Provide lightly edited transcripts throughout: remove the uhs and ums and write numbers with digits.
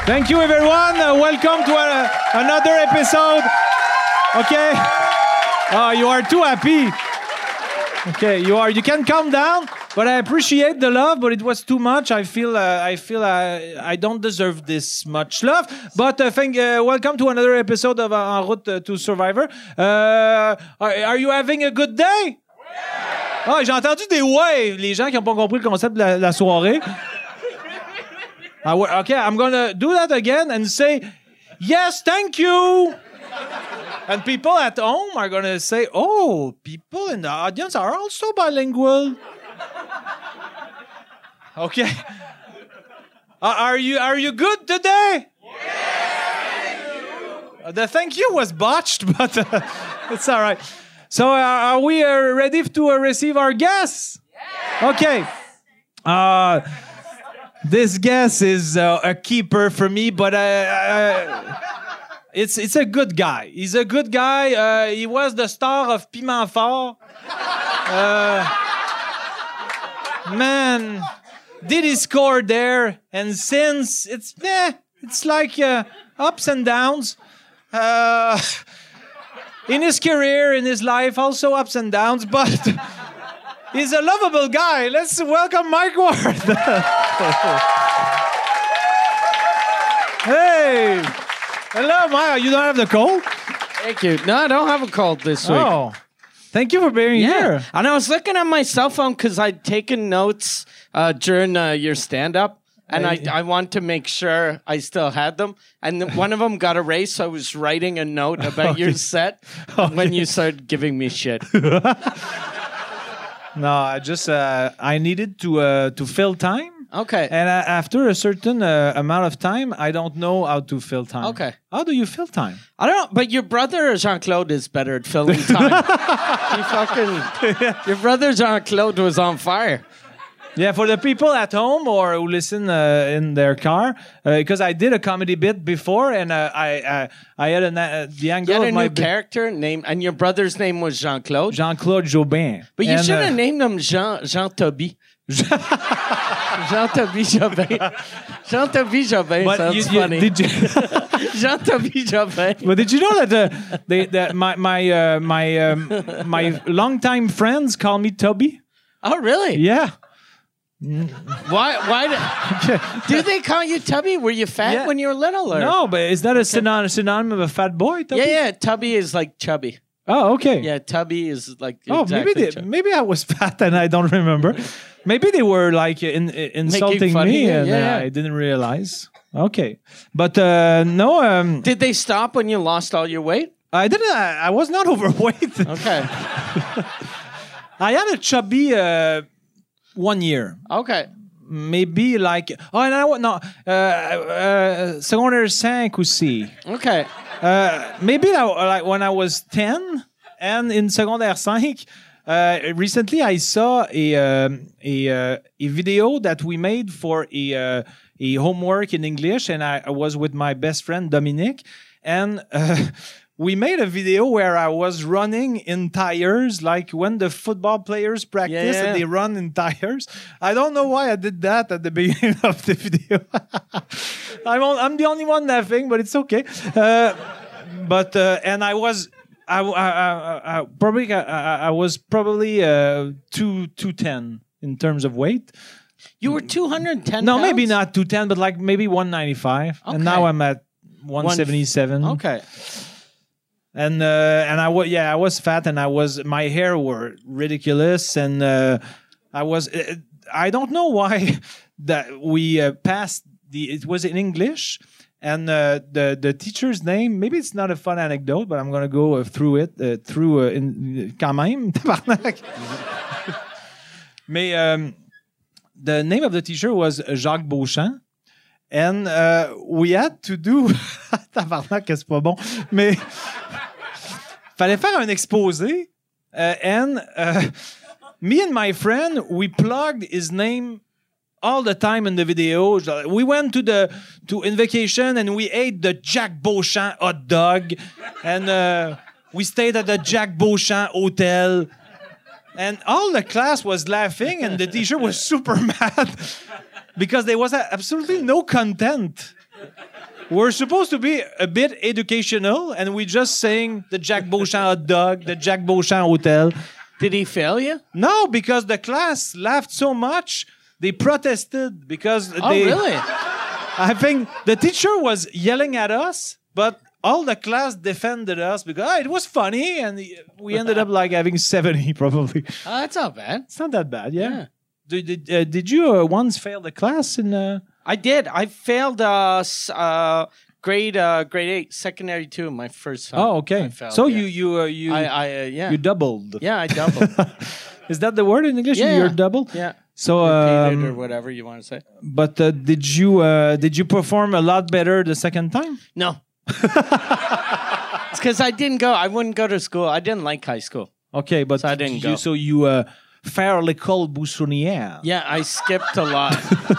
Thank you, everyone. Welcome to another episode. Okay. You are too happy. Okay, you are. You can calm down. But I appreciate the love, but it was too much. I feel I don't deserve this much love. But welcome to another episode of En route to Survivor. Are you having a good day? Yeah. Oh, j'ai entendu des ouais. Les gens qui n'ont pas compris le concept de la soirée. Okay, I'm gonna do that again and say yes, thank you. And people at home are gonna say, oh, people in the audience are also bilingual. Okay. Are you good today? Yeah. The thank you was botched, but it's all right. So are we ready to receive our guests? Yes. Okay. This guest is a keeper for me, but it's a good guy. He's a good guy. He was the star of Piment Fort. Man, did he score there? And since it's like ups and downs. In his career, in his life, also ups and downs, but he's a lovable guy. Let's welcome Mike Ward. Hey. Hello, Mike. You don't have the cold? Thank you. No, I don't have a cold this week. Oh. Thank you for being here. And I was looking at my cell phone because I'd taken notes during your stand-up, and I want to make sure I still had them. And one of them got erased, so I was writing a note about your set when you started giving me shit. No, I needed to fill time. Okay. And after a certain amount of time, I don't know how to fill time. Okay. How do you fill time? I don't know, but your brother Jean-Claude is better at filling time. Your brother Jean-Claude was on fire. Yeah, for the people at home or who listen in their car, because I did a comedy bit before, and I had the angle you had of a my new character name, and your brother's name was Jean-Claude. Jean-Claude Jobin. But you should have named him Jean-Toby. Jean-Toby Jobin. Jean-Toby Jobin sounds funny. Did you Jean-Toby Jobin. But did you know that my longtime friends call me Toby? Oh, really? Yeah. Why do they call you Tubby? Were you fat when you were little? Or? No, but is that a synonym of a fat boy? Tubby? Yeah. Tubby is like chubby. Oh, okay. Yeah, Tubby is like. Oh, exactly maybe I was fat and I don't remember. Maybe they were like insulting me and I didn't realize. Okay, but no. Did they stop when you lost all your weight? I didn't. I was not overweight. Okay. I had a chubby 1 year. Okay. Maybe like secondaire 5 aussi. Okay. Maybe like when I was 10 and in secondaire 5. Recently, I saw a video that we made for a homework in English, and I was with my best friend Dominic, and we made a video where I was running in tires, like when the football players practice and they run in tires. I don't know why I did that at the beginning of the video. I'm the only one laughing, but it's okay. And I was. I was probably 210 in terms of weight. You were 210 No, pounds? maybe not 210, but like maybe 195. Okay. And now I'm at 177. Okay. And I was fat, and my hair were ridiculous, and I don't know why that we passed it was in English. And the teacher's name, maybe it's not a fun anecdote, but I'm going to go through it, quand même, tabarnak. Mais the name of the teacher was Jacques Beauchamp. And we had to do... tabarnak, c'est pas bon. Mais fallait faire un exposé. And me and my friend, we plugged his name all the time in the video. We went to Invocation and we ate the Jack Beauchamp hot dog. And we stayed at the Jack Beauchamp hotel. And all the class was laughing and the teacher was super mad because there was absolutely no content. we're supposed to be a bit educational, and we just saying the Jack Beauchamp hot dog, the Jack Beauchamp hotel. Did he fail you? No, because the class laughed so much, they protested because Oh, they. really? I think the teacher was yelling at us, but all the class defended us because it was funny, and we ended up like having 70 probably. Oh, that's not bad. It's not that bad, yeah. Yeah. Did you once fail the class in? I did. I failed grade 8, secondary 2, my first time. Oh, okay. I failed, So yeah. you you doubled. Yeah, I doubled. Is that the word in English? Yeah. You're double. Yeah. So, Repeated or whatever you want to say. but did you perform a lot better the second time? No. It's because I didn't go. I wouldn't go to school. I didn't like high school. Okay, but So I didn't go. So you fairly called Boussonnière. Yeah, I skipped a lot.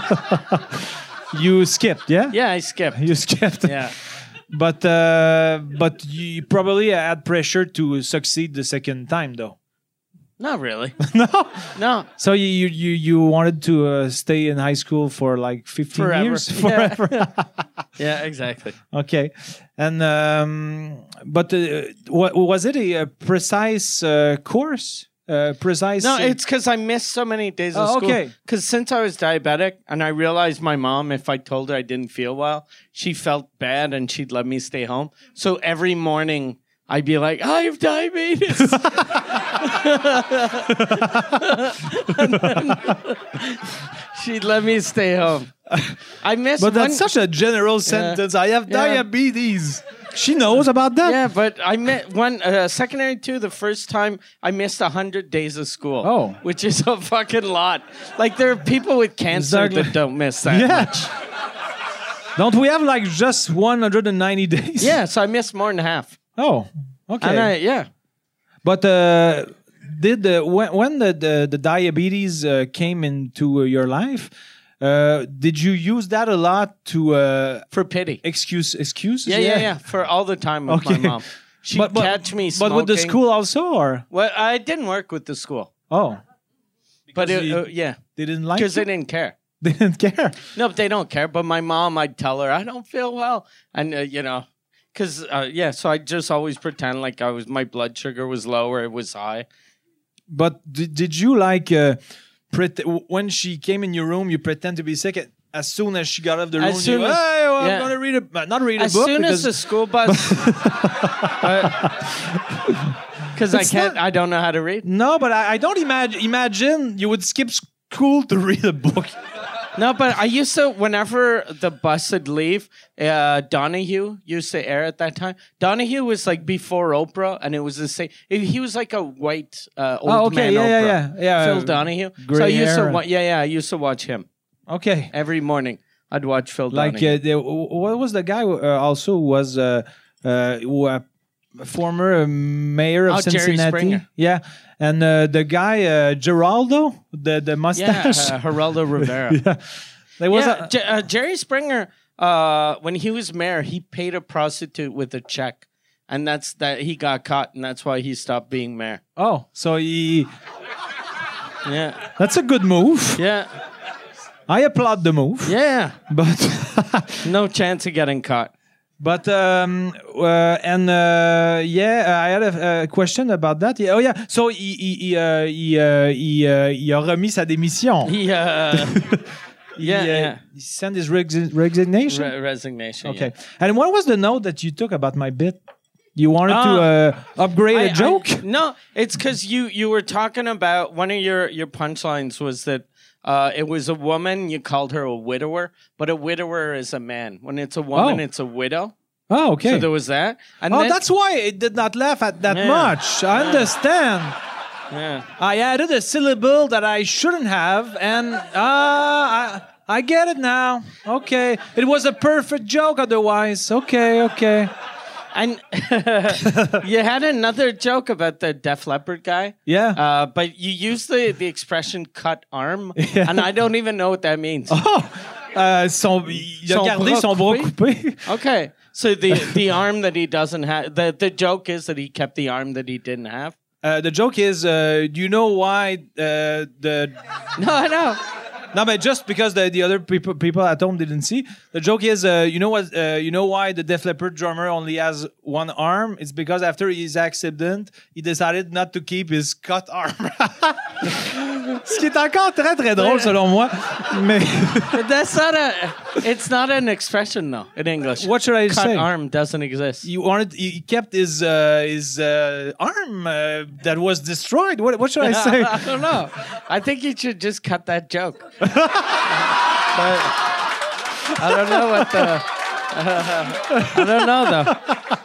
You skipped, yeah? Yeah, I skipped. You skipped. Yeah. But you probably had pressure to succeed the second time, though. Not really. No. No. So you wanted to stay in high school for like 15 Forever. years? Yeah. Forever. Yeah, exactly. Okay. And but what was it a precise course? Precise. No, it's because I missed so many days of Oh, school. okay. Because since I was diabetic, and I realized my mom, if I told her I didn't feel well, she felt bad and she'd let me stay home. So every morning I'd be like, I have diabetes. And then she'd let me stay home. I missed But that's one. such a general sentence. I have Yeah. diabetes. She knows about that. Yeah, but I met one secondary 2. The first time I missed 100 days of school. Oh. Which is a fucking lot. Like there are people with cancer Exactly. that don't miss that Yeah. much. Don't we have like just 190 days? Yeah, so I missed more than half. Oh, okay. And yeah. But did when the diabetes came into your life, did you use that a lot to For pity. excuses? Yeah. For all the time with my Okay. mom. She'd catch me smoking. But with the school also, or Well, I didn't work with the school. oh, But you- yeah, they didn't like because they it? didn't care. They didn't care. No, but they don't care. But my mom, I'd tell her, I don't feel well. And, because, so I just always pretend like my blood sugar was low or it was high. But did you like when she came in your room, you pretend to be sick? As soon as she got out of the room, soon you, as- hey, well, yeah. I'm gonna read not read a As book soon as because the school bus, because It's I don't know how to read. no, but I don't imagine you would skip school to read a book. No, but I used to, whenever the bus would leave, Donahue used to air at that time. Donahue was like before Oprah, and it was the same. He was like a white old man Oprah. yeah. Phil Donahue. gray So I used hair. to, I used to watch him Okay, every morning. I'd watch Phil like Donahue. what was the guy also who was former mayor of Jerry Cincinnati? Springer. Yeah, and the guy Geraldo, the mustache. Geraldo Rivera. Yeah. There was Jerry Springer, when he was mayor, he paid a prostitute with a check. And that's that he got caught, and that's why he stopped being mayor. So Yeah. that's a good move. Yeah. I applaud the move. Yeah. But No chance of getting caught. but I had a question about that. Yeah, oh yeah, so il a remis sa démission. He, yeah. He sent his resignation. Resignation. Okay. And what was the note that you took about my bit? You wanted to upgrade a joke? No, it's because you were talking about one of your punchlines was that it was a woman, you called her a widower, but a widower is a man. When it's a woman, it's a widow. Oh, okay. So there was that. And then, that's why it did not laugh at that Yeah. much. I understand. yeah. I added a syllable that I shouldn't have, and I get it now. Okay. It was a perfect joke otherwise. Okay. And you had another joke about the Def Leppard guy. Yeah. But you used the expression cut arm, Yeah. and I don't even know what that means. Il a gardé son bras coupé. Okay. So the arm that he doesn't have, the joke is that he kept the arm that he didn't have. The joke is, do you know why the No, I know. No, but just because the other people at home didn't see, the joke is, you know what? You know why the Def Leppard drummer only has one arm? It's because after his accident, he decided not to keep his cut arm. Ce qui est encore très très drôle selon moi. Mais But it's not an expression though in English. What should I Cut say? arm doesn't exist. He kept his arm that was destroyed. What should I say? I don't know. I think you should just cut that joke. But I don't know what the. I don't know though.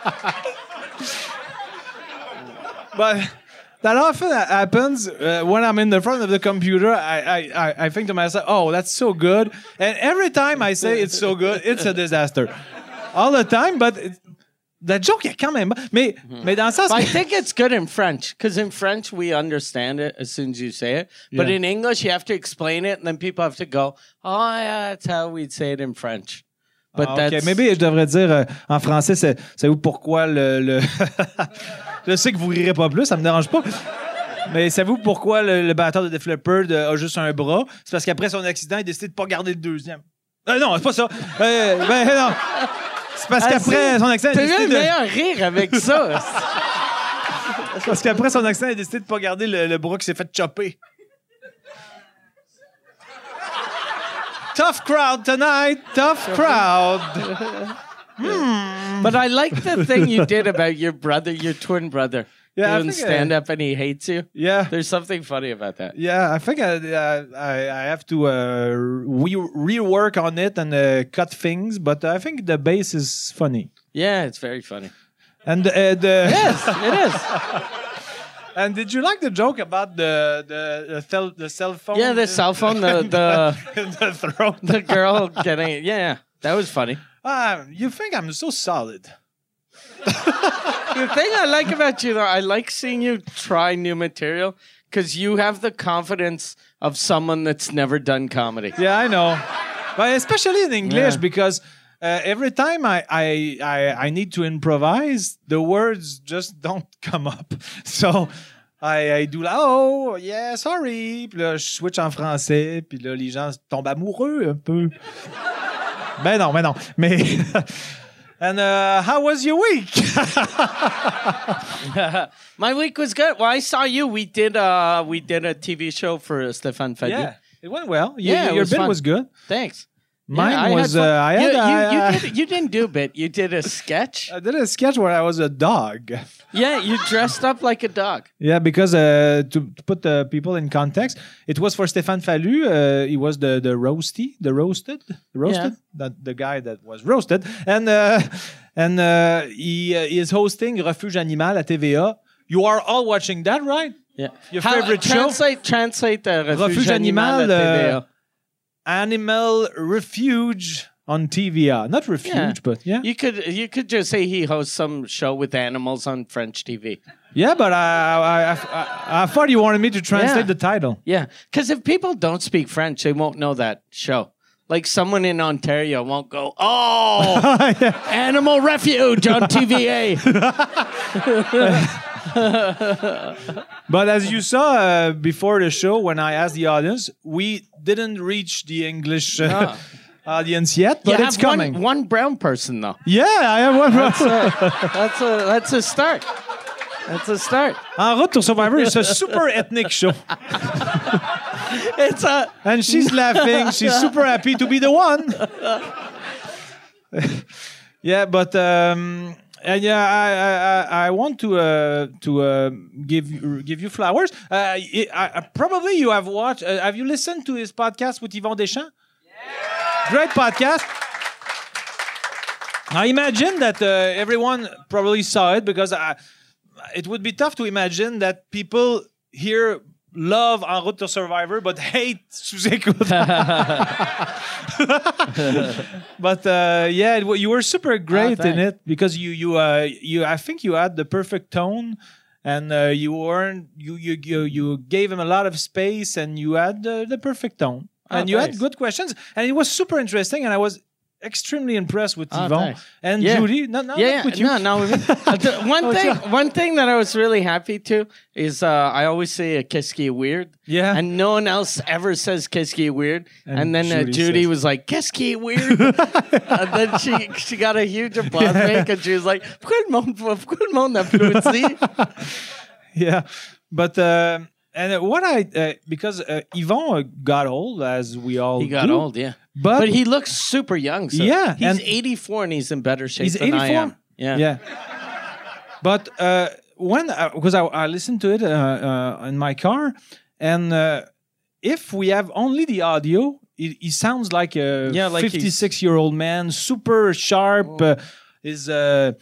But that often happens when I'm in the front of the computer. I think to myself, "Oh, that's so good," and every time I say it's so good, it's a disaster. All the time, but the joke est quand même. Mais dans le sens. I think it's good in French because in French we understand it as soon as you say it, but Yeah. in English you have to explain it, and then people have to go, "Oh yeah, that's how we'd say it in French." But OK, that's maybe je devrais dire en français, c'est pourquoi le je sais que vous rirez pas plus, ça me dérange pas. Mais savez-vous pourquoi le batteur de Def Leppard a juste un bras? C'est parce qu'après son accident, il a décidé de pas garder le deuxième. Non, c'est pas ça. Non. C'est parce qu'après son accident, il a T'as eu décidé le meilleur rire avec ça. Parce qu'après son accident, il a décidé de pas garder le bras qui s'est fait chopper. Tough crowd tonight. Tough crowd. But I like the thing you did about your brother, your twin brother, Yeah, I doing think, stand up and he hates you. Yeah. There's something funny about that. Yeah, I think I have to rework on it and cut things, but I think the bass is funny. Yeah, it's very funny. And Yes, it is. And did you like the joke about the cell phone? Yeah, the cell phone, the in the throat. the girl getting it. Yeah, that was funny. You think I'm so solid? The thing I like about you, though, I like seeing you try new material because you have the confidence of someone that's never done comedy. Yeah, I know, but especially in English Yeah. because every time I need to improvise, the words just don't come up. So I do là, oh yeah, sorry, puis là je switch en français, puis là les gens tombent amoureux un peu. Ben non. Mais and how was your week? My week was good. Well, I saw you. We did a TV show for Stéphane Fadu. Yeah, it went well. Yeah, it Your was bit fun. was good. Thanks. Mine Yeah, I was. had fun. I You didn't do a bit. You did a sketch. I did a sketch where I was a dog. Yeah, you dressed up like a dog. Yeah, because to put the people in context, it was for Stéphane Fallu. He was the roasted, Yeah. the guy that was roasted, and he is hosting Refuge Animal at TVA. You are all watching that, right? Yeah. Your favorite show? Translate the Refuge Animal, at TVA. Animal Refuge on TVA. Not Refuge, Yeah. but yeah. You could just say he hosts some show with animals on French TV. Yeah, but I thought you wanted me to translate Yeah. the title. Yeah, because if people don't speak French, they won't know that show. Like someone in Ontario won't go, "Oh, Animal Refuge on TVA." But as you saw before the show, when I asked the audience, we didn't reach the English audience yet, but You it's have coming. one brown person though. Yeah, I have one. That's a start. That's a start. En route to Survivor is a super ethnic show. It's a And she's laughing. She's super happy to be the one. Yeah, but and yeah, I want to give you flowers. Probably you have watched. Have you listened to his podcast with Yvon Deschamps? Yeah. Great podcast. I imagine that everyone probably saw it because it would be tough to imagine that people here love En route to Survivor but hate Sous-Écoute. But yeah, you were super great in it because you I think you had the perfect tone and you gave him a lot of space and you had the perfect tone and you had thanks. good questions and it was super interesting and I was extremely impressed with Oh, Yvon thanks. and Yeah. Judy. No, Yeah, with you. no. One thing that I was really happy to is I always say a qu'est-ce qui est weird. Yeah. And no one else ever says qu'est-ce qui est weird. And then says- Judy was like, qu'est-ce qui est weird? And then she got a huge applause break and she was like, pourquoi le monde applaudit? Yeah, but and what because Yvon got old, as we all He got do, old, yeah. but, But he looks super young. So Yeah, he's and- 84 and he's in better shape he's than I 84. am. Yeah. Yeah. But when because I listened to it in my car, and if we have only the audio, he sounds like a Yeah, like 56-year-old man, super sharp. Is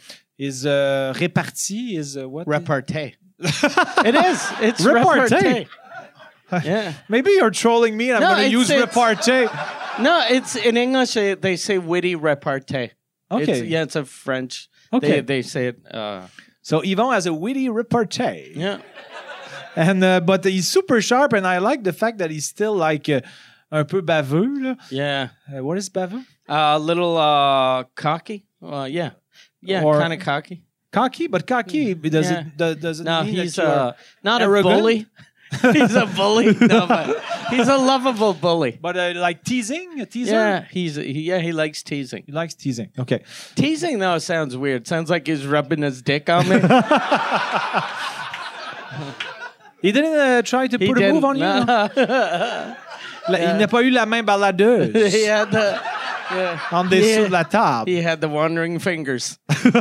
réparti is what? Repartee. It is. It's Repartee. repartee. Yeah. Maybe you're trolling me, and I'm No, going to use it's- repartee. No, it's in English. They say witty repartee. Okay. It's a French. Okay. They say it. So Yvon has a witty repartee. Yeah. And but he's super sharp, and I like the fact that he's still like un peu baveux. Là. Yeah. What is baveux? A little cocky. Yeah. Yeah. Or- Kind of cocky. Cocky, but cocky does Yeah. it does it No, mean he's that you are not arrogant? a bully. He's a bully. No, but he's a lovable bully. but like teasing, a teaser. Yeah, he likes teasing. He likes teasing. Okay. Teasing though sounds weird. Sounds like he's rubbing his dick on me. He didn't try to He put a move didn't. on you. No. No? Il n'a pas eu la main balladeuse He had the en dessous de la table. he had the wandering fingers.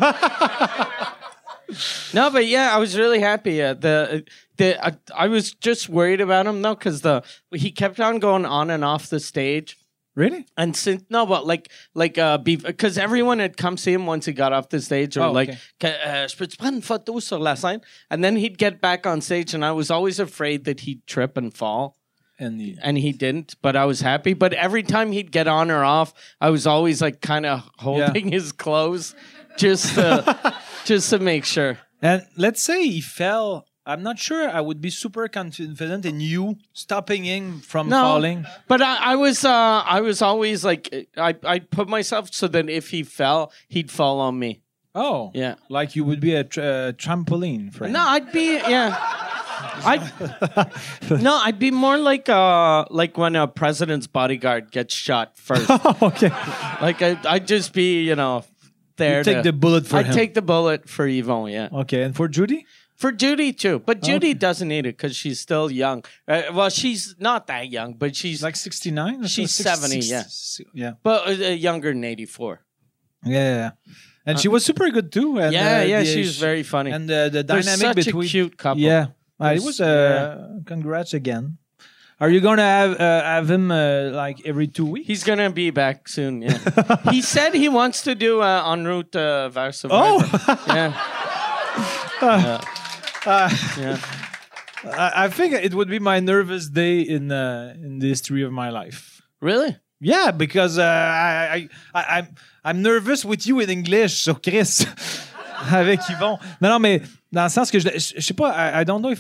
No, but yeah, I was really happy. I was just worried about him though, because he kept on going on and off the stage. Really? And since because everyone had come see him once he got off the stage, or Oh, like, okay. je peux-tu prendre une photo sur la scène? And then he'd get back on stage, and I was always afraid that he'd trip and fall. And And he didn't, but I was happy. But every time he'd get on or off, I was always like kind of holding his clothes just to make sure. and let's say he fell. I'm not sure I would be super confident in you stopping him from falling. But I was always like I put myself so that if he fell, he'd fall on me. Oh, Yeah. like you would be a trampoline for him. No, I'd be I'd be more like when a president's bodyguard gets shot first. Okay. Like I'd just be there. You take the bullet for I'd him. take the bullet for Yvon. Yeah. Okay, and for Judy? For Judy too, but Judy doesn't need it because she's still young. Well, she's not that young, but she's Like 69? She's 70, yeah. Yeah. but younger than 84. Yeah. And she was super good too. And, She was very funny. And the They're dynamic such between. a cute couple. Yeah. It was congrats again. Are you going to have him like every 2 weeks? He's gonna be back soon. Yeah, he said he wants to do en route vers Oh! yeah. Yeah. I think it would be my nervous day in the history of my life. Really? Yeah, because I'm nervous with you in English, so Chris, avec Yvon. Non, mais dans le sens que je sais pas, I don't know if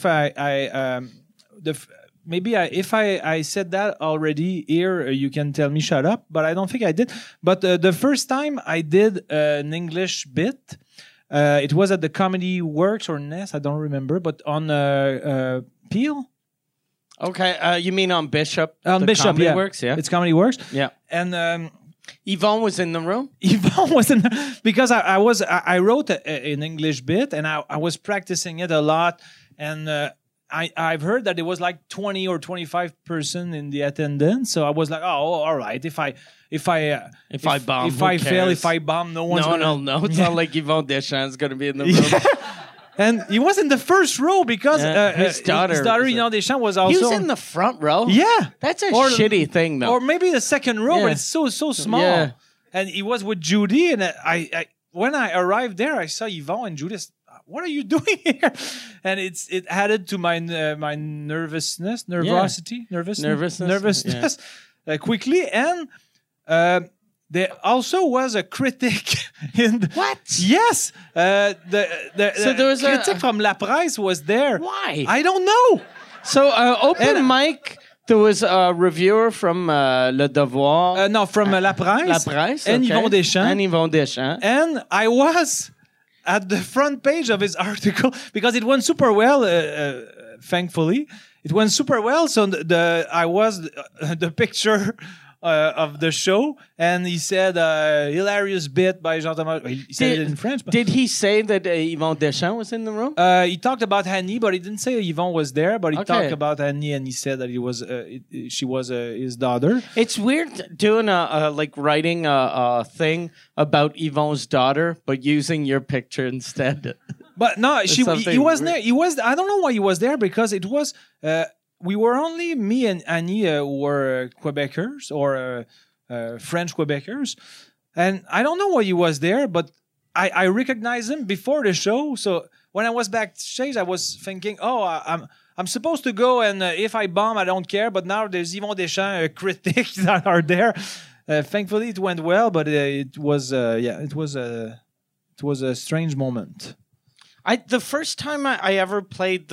if I said that already here, you can tell me shut up, but I don't think I did. But the first time I did an English bit, it was at the Comedy Works or Nest, I don't remember, but on Peel. Okay. You mean on Bishop? On The Bishop, Comedy yeah. Works, yeah. It's Comedy Works. Yeah. And Yvon was in the room. Yvon wasn't, because I wrote an English bit and I was practicing it a lot, and I've heard that there was like 20 or 25% in the attendance, so I was like, oh, all right, if I bomb, if who I fail, cares? if I bomb, no one's No. It's not like Yvon Deschamps is gonna be in the room. Yeah. And he was in the first row because His daughter was Yvon Deschamps, was also He was in the front row. yeah. That's a Or- shitty thing, though. Or maybe the second row, Yeah. but it's so small. Yeah. And he was with Judy, and I when I arrived there, I saw Yvon and Judy. What are you doing here? And it added to my nervousness, nervousness quickly. And there also was a critic in What? Yes, the So there was a- critic from La Presse was there. Why? I don't know. So open And- mic There was a reviewer from Le Devoir. No, from La Presse. La Presse, And okay. Yvon Deschamps. And Yvon Deschamps. And I was at the front page of his article because it went super well, thankfully. It went super well. So I was the picture of the show, and he said, hilarious bit by Jean-Thomas. He said it in French. But, Did he say that Yvon Deschamps was in the room? he talked about Annie, but he didn't say Yvon was there, but he Okay. talked about Annie, and he said that she was his daughter. It's weird doing writing a thing about Yvonne's daughter, but using your picture instead. But no, he something was weird. there. He was. I don't know why he was there because it was. We were only me and Annie who were Quebecers or French Quebecers, and I don't know why he was there. But I recognized him before the show. So when I was backstage, I was thinking, oh, I'm supposed to go, and if I bomb, I don't care. But now there's Yvon Deschamps critics that are there. Thankfully, it went well, but it was a strange moment. The first time I ever played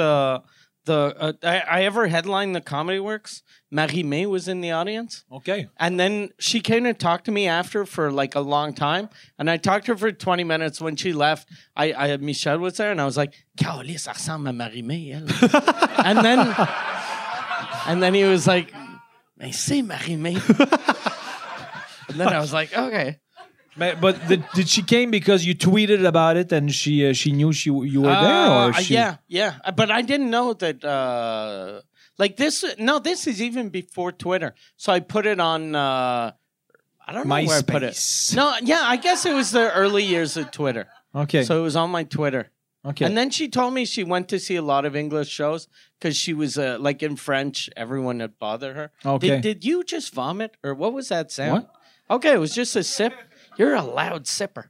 I ever headlined the Comedy Works, Marie-Mé was in the audience. Okay. And then she came to talk to me after for like a long time. And I talked to her for 20 minutes. When she left, Michel was there and I was like, Caroline, ça ressemble à Marie-Mé, elle. and then he was like, mais c'est Marie-Mé. And then I was like, okay. But did she came because you tweeted about it and she knew you were there, or she... Yeah. But I didn't know that. Like this. No, this is even before Twitter. So I put it on. I don't know where I put it. No, yeah, I guess it was the early years of Twitter. Okay. So it was on my Twitter. Okay. And then she told me she went to see a lot of English shows because she was like in French, everyone had bothered her. Okay. Did you just vomit or what was that sound? What? Okay, it was just a sip. You're a loud sipper.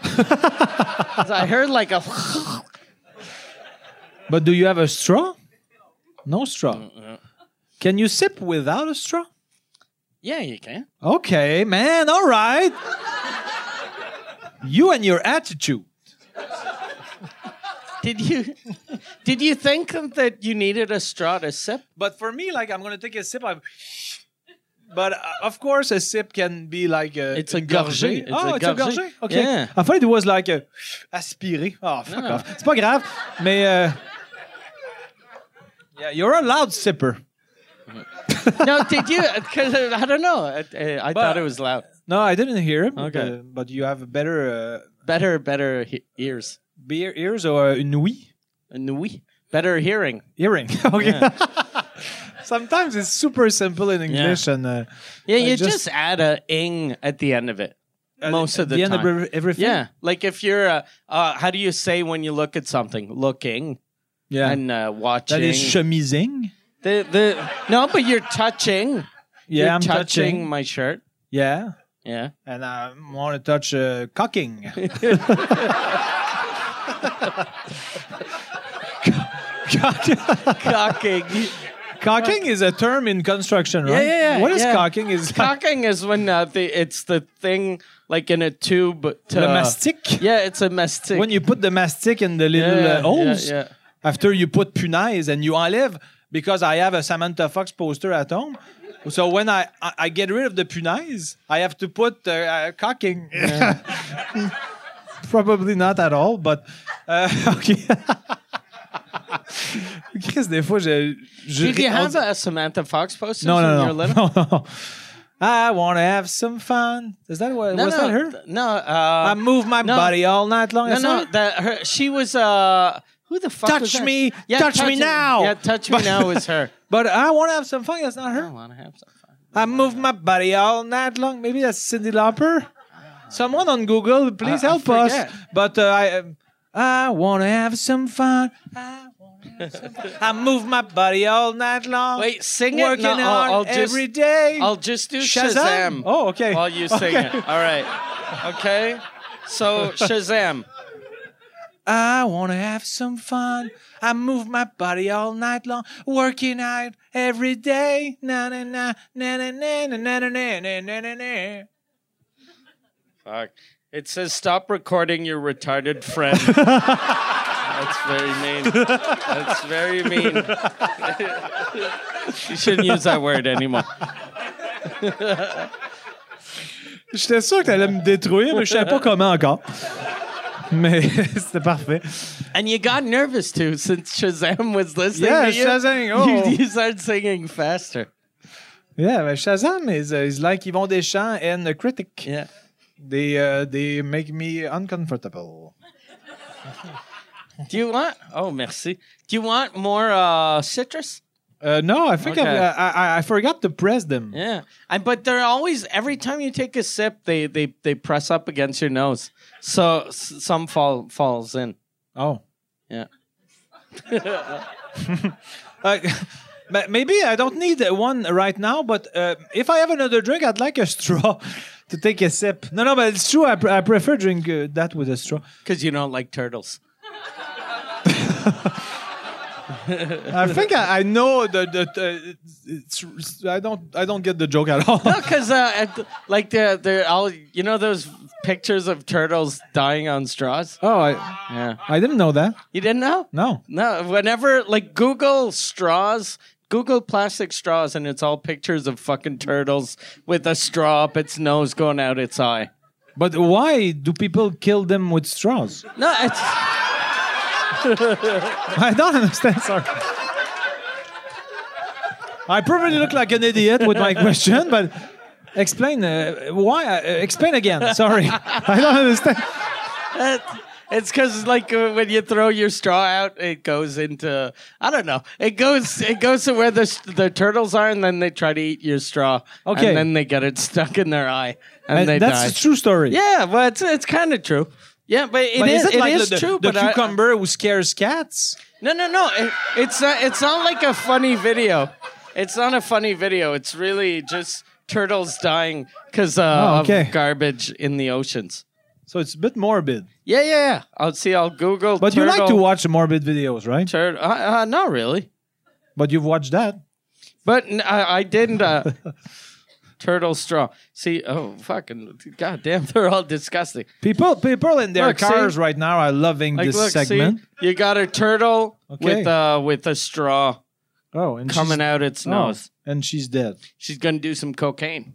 I heard like a. But do you have a straw? No straw. Can you sip without a straw? Yeah, you can. Okay, man. All right. You and your attitude. Did you think that you needed a straw to sip? But for me, like, I'm gonna take a sip. But of course, a sip can be like a. It's a gorgée. It's a gorgée. Okay. Yeah. I thought it was like a aspiré. Oh, fuck off. C'est pas grave. Mais yeah, you're a loud sipper. No, did you? Because I don't know. I thought it was loud. No, I didn't hear it. Okay. But you have a better. Better ears. Beer ears or une ouïe? Une ouïe. Better hearing. Hearing. Okay. Yeah. Sometimes it's super simple in English, and you just add a ing at the end of it. Most of the time. At the end of everything. Yeah, like if you're, how do you say when you look at something? Looking. Yeah. And watching. That is chemising. No, but you're touching. Yeah, you're I'm touching my shirt. Yeah. Yeah. And I want to touch cocking. Cocking. Cocking is a term in construction, right? Yeah. What is cocking? Cocking is when it's the thing like in a tube to the mastic? Yeah, it's a mastic. When you put the mastic in the little holes, after you put punaise and you enlève, because I have a Samantha Fox poster at home. So when I get rid of the punaise, I have to put cocking. Yeah. Probably not at all, but okay. Chris, des fois, Did you have a Samantha Fox poster no, when you were little? No. I want to have some fun. Is that what? Was that her? No. I move my body all night long. She was. Who the fuck was that? Touch me now. Yeah, touch me now is her. But I want to have some fun. That's not her. I want to have some fun. I move my body all night long. Maybe that's Cyndi Lauper. Someone on Google, please help us. But I want to have some fun. I move my body all night long. Wait, sing it. Working hard every day. I'll just do Shazam. Oh, okay. While you sing it. All right. Okay. So Shazam. I want to have some fun. I move my body all night long, working out every day. Na na na na na na na na na na na na. Fuck. It says stop recording your retarded friend. That's very mean. That's very mean. You shouldn't use that word anymore. J'étais sûr que t'allais me détruire, mais je savais pas comment encore. Mais c'était parfait. And you got nervous too, since Shazam was listening Yeah, to you. Shazam, oh. You started singing faster. Yeah, but Shazam is like Yvon Deschamps and a critic. Yeah. They make me uncomfortable. Do you want? Oh, merci. Do you want more citrus? No, I think Okay. I forgot to press them. Yeah, but they're always every time you take a sip, they press up against your nose, so some falls in. Oh. Yeah. But maybe I don't need one right now, but if I have another drink, I'd like a straw to take a sip. No, but it's true. I prefer drink that with a straw. Because you don't like turtles. I think I know I don't get the joke at all. No, because like they're all those pictures of turtles dying on straws. Oh, Yeah, I didn't know that. you didn't know? No. No. Whenever like Google straws. Google plastic straws, and it's all pictures of fucking turtles with a straw up its nose going out its eye. But why do people kill them with straws? No, it's I don't understand. Sorry. I probably look like an idiot with my question, but explain why. Explain again. Sorry, I don't understand. it's because like when you throw your straw out, it goes into I don't know. It goes to where the turtles are, and then they try to eat your straw. Okay. and then they get it stuck in their eye, and they that's die. a true story. Yeah, well, it's kind of true. Yeah, but it But is is it like is the true. But cucumber who scares cats? No. It's not like a funny video. It's not a funny video. It's really just turtles dying because okay. of garbage in the oceans. So it's a bit morbid. Yeah. I'll Google. But turtle, you like to watch morbid videos, right? Not really. But you've watched that. But I didn't. Turtle straw. See, oh fucking goddamn, they're all disgusting. People in their Look, cars see? right now are loving Like, this look, segment. see, you got a turtle Okay. with a straw Oh, and coming out its nose. and she's dead. She's gonna do some cocaine.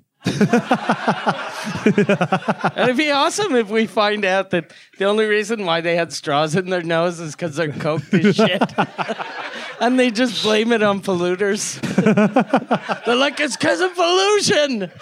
It'd be awesome if we find out that the only reason why they had straws in their nose is because they're coked as shit. And they just blame it on polluters. They're like, it's because of pollution.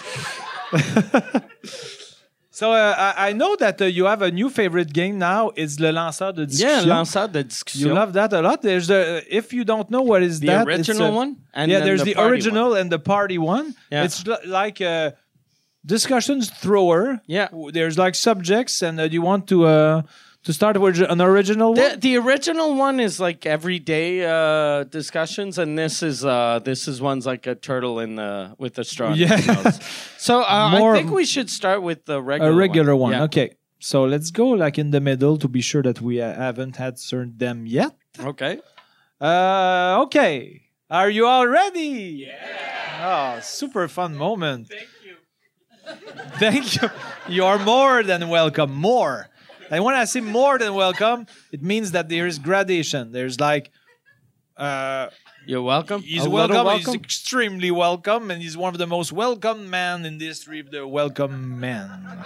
So I know that you have a new favorite game now. It's Le Lanceur de Yeah, Discussion. lanceur de discussion. You love that a lot. There's if you don't know what is the that, original it's one? And yeah, then there's the party original and the party one. Yeah. It's like a discussions thrower. Yeah. There's like subjects, and you want to start with an original one. The original one is like everyday discussions, and this is one's like a turtle with a straw. in its Yeah. nose. So More- I think we should start with the regular A regular one. Yeah. Okay. So let's go like in the middle to be sure that we haven't had served them yet. Okay. Okay. Are you all ready? Yeah. Oh, super fun moment. Thank you. Thank you. You are more than welcome. More. And when I say more than welcome, it means that there is gradation. There's like, You're welcome. he's A little welcome. He's extremely welcome, and he's one of the most welcome men in the history of the welcome men.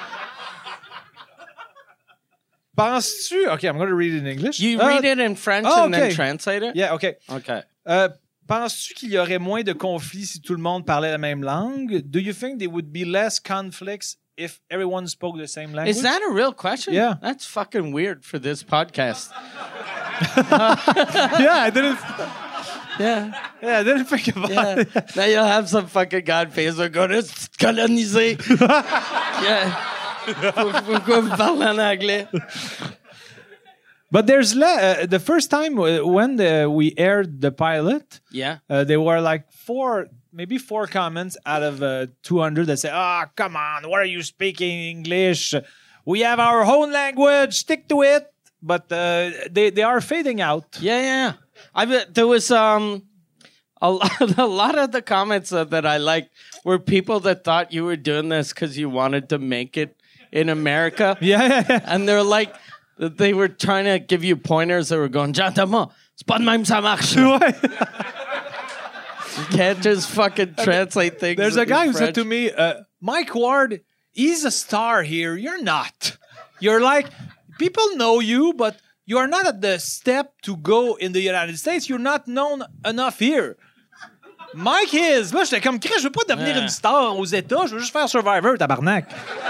Penses-tu? Okay, I'm going to read it in English. You read it in French and then okay. translate it? Yeah, okay. Okay. Penses-tu qu'il y aurait moins de conflits si tout le monde parlait la même langue? Do you think there would be less conflicts if everyone spoke the same language? Is that a real question? Yeah. That's fucking weird for this podcast. Yeah, I didn't. Yeah. Yeah, I didn't think about Yeah. it. Now you'll have some fucking guy on Facebook going, it's colonisé. Yeah. Pourquoi vous parlez en anglais? But there's the first time when we aired the pilot, Yeah. there were like maybe four comments out of 200 that say, come on, what are you speaking English? We have our own language, stick to it. But they are fading out. Yeah. There was a lot of the comments that I liked were people that thought you were doing this because you wanted to make it in America. Yeah. And they're like, they were trying to give you pointers. They were going, Jean-Thomas, c'est pas de même ça marche. Ouais. You can't just fucking translate things. There's a guy in who said to French. me, Mike Ward, he's a star here. You're not. You're like, people know you, but you are not at the step to go in the United States. You're not known enough here. Mike is. Moi, j'étais comme, Chris, je veux pas devenir une star aux États. Je veux juste faire Survivor, tabarnak.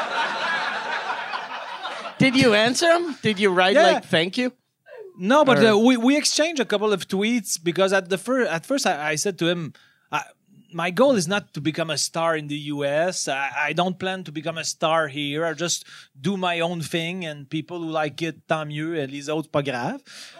Did you answer him? Did you write Yeah. like thank you? No, but we exchanged a couple of tweets because at first I said to him, my goal is not to become a star in the US. I don't plan to become a star here. I just do my own thing and people who like it, tant mieux. Et les autres, pas grave.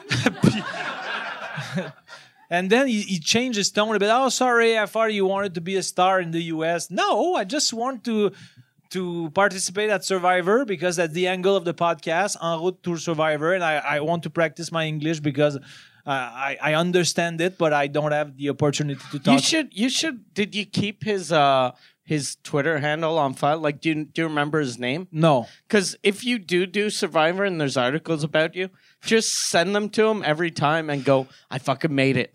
And then he changed his tone a bit. Oh, sorry, I thought you wanted to be a star in the US. No, I just want to participate at Survivor because that's the angle of the podcast, En route to Survivor, and I want to practice my English because I understand it, but I don't have the opportunity to talk. You should. Did you keep his Twitter handle on file? Like, do you remember his name? No. Because if you do Survivor and there's articles about you, just send them to him every time and go, I fucking made it.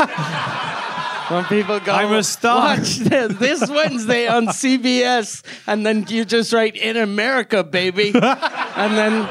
When people go, I'm a star. Watch this Wednesday on CBS, and then you just write in America, baby, and then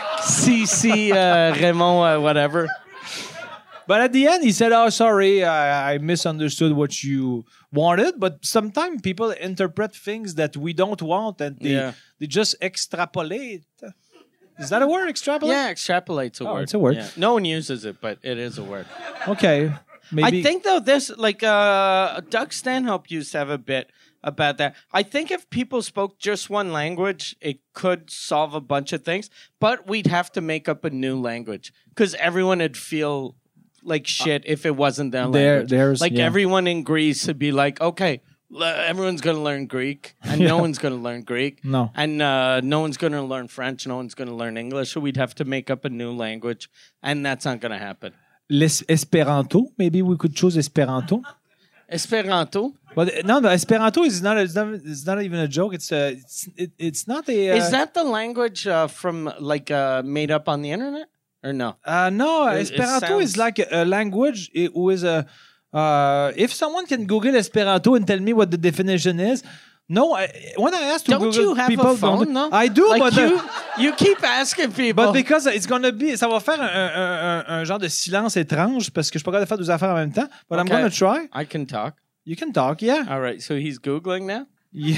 CC Raymond, whatever. But at the end, he said, oh, sorry, I misunderstood what you wanted. But sometimes people interpret things that we don't want and they just extrapolate. Is that a word, extrapolate? Yeah, extrapolate's a word. It's a word. Yeah. No one uses it, but it is a word. Okay. Maybe. I think, though, this, like, Doug Stanhope used to have a bit about that. I think if people spoke just one language, it could solve a bunch of things, but we'd have to make up a new language because everyone would feel like shit if it wasn't their language. Everyone in Greece would be like, okay, everyone's going to learn Greek, and no one's going to learn Greek. No. And no one's going to learn French, no one's going to learn English, so we'd have to make up a new language, and that's not going to happen. Esperanto, maybe we could choose Esperanto. Esperanto? But no, Esperanto is not. It's not even a joke. It's not a. Is that the language from like made up on the internet or no? No, It Esperanto is sounds- like a language. Who is a. If someone can Google Esperanto and tell me what the definition is. No, when I asked to Don't Google, you have people a phone? don't. No, I do, like but you keep asking people. but because it's gonna be, ça va faire un genre de silence étrange parce que je suis pas capable de faire deux affaires en même temps. But I'm Okay. gonna try. I can talk. You can talk, yeah. All right, so he's googling now. Yeah.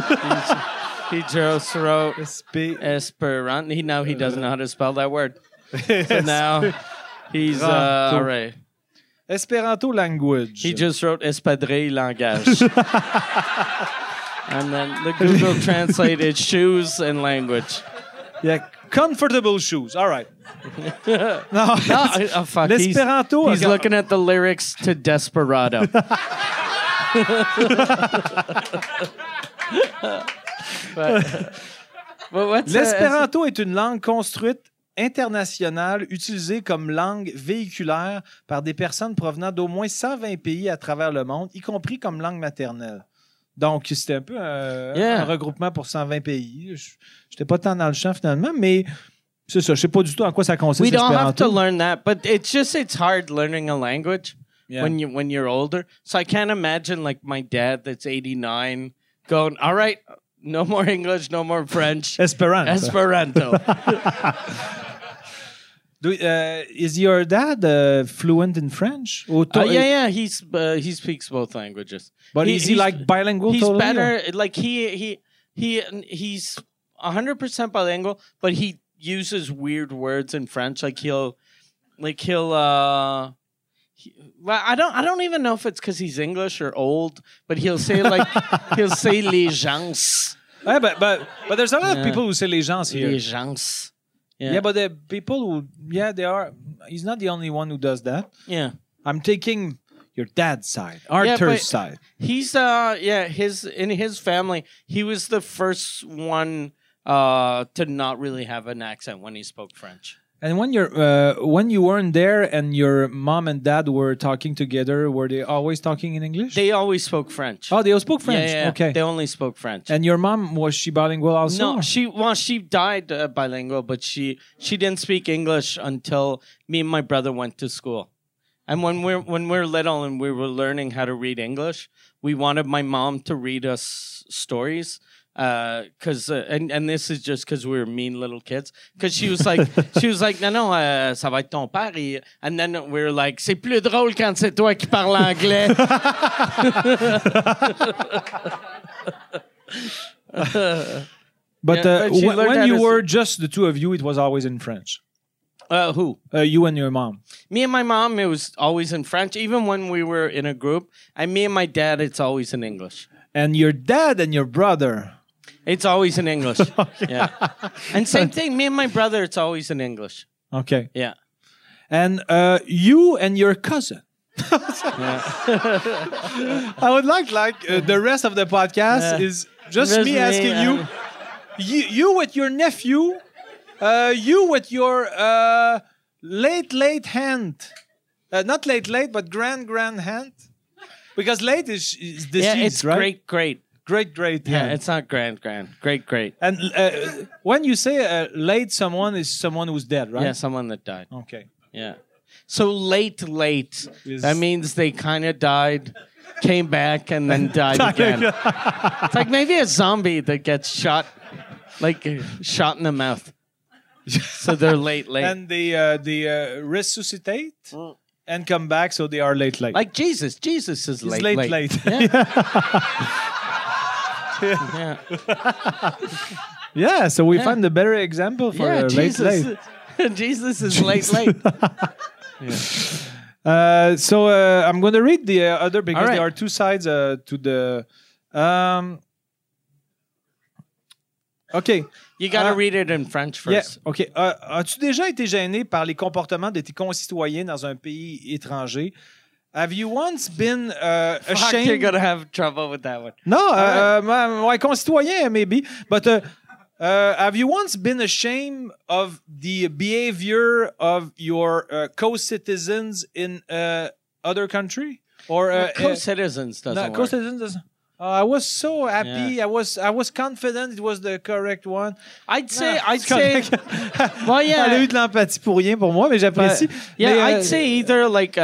He just wrote Espe- Esperanto. He doesn't know how to spell that word. So now he's all right. Esperanto language. He just wrote espadrille langage. And then the Google translated shoes and language. Yeah, comfortable shoes. All right. No, Oh, fuck. L'Esperanto. He's looking at the lyrics to Desperado. But what's L'Espéranto est une langue construite internationale utilisée comme langue véhiculaire par des personnes provenant d'au moins 120 pays à travers le monde, y compris comme langue maternelle. Donc, c'était un peu un regroupement pour 120 pays. Je n'étais pas tant dans le champ finalement, mais c'est ça. Je ne sais pas du tout en quoi ça consiste. We don't have to l'Espéranto. learn that, but it's hard learning a language when you're older. So I can't imagine like my dad that's 89 going, all right, no more English, no more French. Esperanto. Is your dad fluent in French? Yeah. He speaks both languages. But is he like bilingual? He's totally, better. Like he's 100% bilingual, but he uses weird words in French. Well, I don't even know if it's because he's English or old, but he'll say les gens. Yeah, but there's a lot of people who say les gens here. Les gens. Yeah, but the people who, they are. He's not the only one who does that. Yeah. I'm taking your dad's side, Arthur's side. He's in his family, he was the first one to not really have an accent when he spoke French. And when you weren't there and your mom and dad were talking together, were they always talking in English? They always spoke French. Oh, they all spoke French. Yeah. Okay. They only spoke French. And your mom, was she bilingual also? No, she died bilingual, but she didn't speak English until me and my brother went to school. And when we're little and we were learning how to read English, we wanted my mom to read us stories. Cause and this is just because we were mean little kids. Cause she was like, non, ça va être ton père. And then we were like, c'est plus drôle quand c'est toi qui parles anglais. But she learned when how you to were just the two of you, it was always in French. Who? You and your mom. Me and my mom, it was always in French. Even when we were in a group. And me and my dad, it's always in English. And your dad and your brother. It's always in English. Yeah. And same thing, me and my brother, it's always in English. Okay. Yeah. And you and your cousin. I would like the rest of the podcast is just me asking you, you with your nephew, you with your late aunt, not late, but grand aunt, because late is deceased, yeah, it's right? great. Yeah, it's not grand. Great. And when you say late, someone is someone who's dead, right? Yeah, someone that died. Okay. Yeah. So late, that means they kind of died, came back, and then died again. It's like maybe a zombie that gets shot, shot in the mouth. So they're late. And they resuscitate and come back, so they are late. Like Jesus. Jesus is He's late. late. Yeah. Yeah, so we find a better example for Jesus. late. Jesus is late. So I'm going to read the other because there are two sides to the. Okay. You got to read it in French first. Yeah. Okay. As-tu déjà été gêné par les comportements de tes concitoyens dans un pays étranger? Have you once been ashamed? You're gonna have trouble with that one. No, my concitoyen maybe, but have you once been ashamed of the behavior of your co-citizens in other country or co-citizens doesn't work. Co-citizens doesn't. I was so happy. Yeah. I was confident it was the correct one. I'd say. Well, yeah. Elle a eu de l'empathie pour rien pour moi, mais j'apprécie. Yeah, I'd say either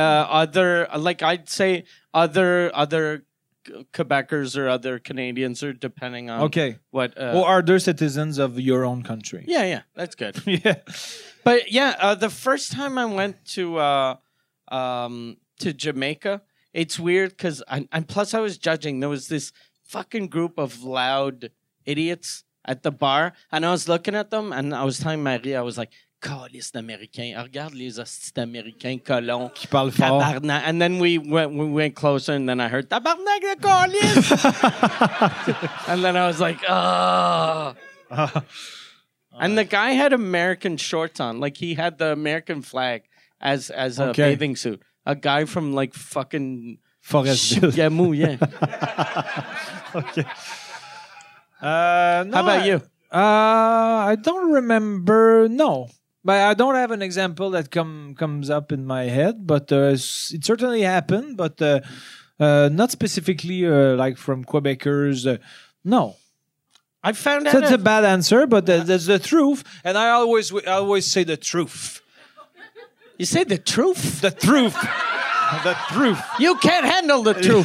other Quebecers or other Canadians, or depending on what. Or other citizens of your own country. Yeah, that's good. Yeah, but yeah, the first time I went to Jamaica. It's weird because, and plus I was judging. There was this fucking group of loud idiots at the bar, and I was looking at them, and I was telling Marie, I was like, "Calice d'Américains, regarde les hosties d'Américains colons qui parlent fort." Tabarnak. And then we went closer, and then I heard tabarnak de calice, and then I was like, "Oh." And the guy had American shorts on, like he had the American flag as a bathing suit. A guy from fucking Forestville. Yeah. Okay. No, How about you? I don't remember. No, but I don't have an example that comes up in my head. But it certainly happened. But not specifically from Quebecers. No. I found out that's a bad answer, but that's the truth. And I always say the truth. You say the truth? The truth. The truth. You can't handle the truth.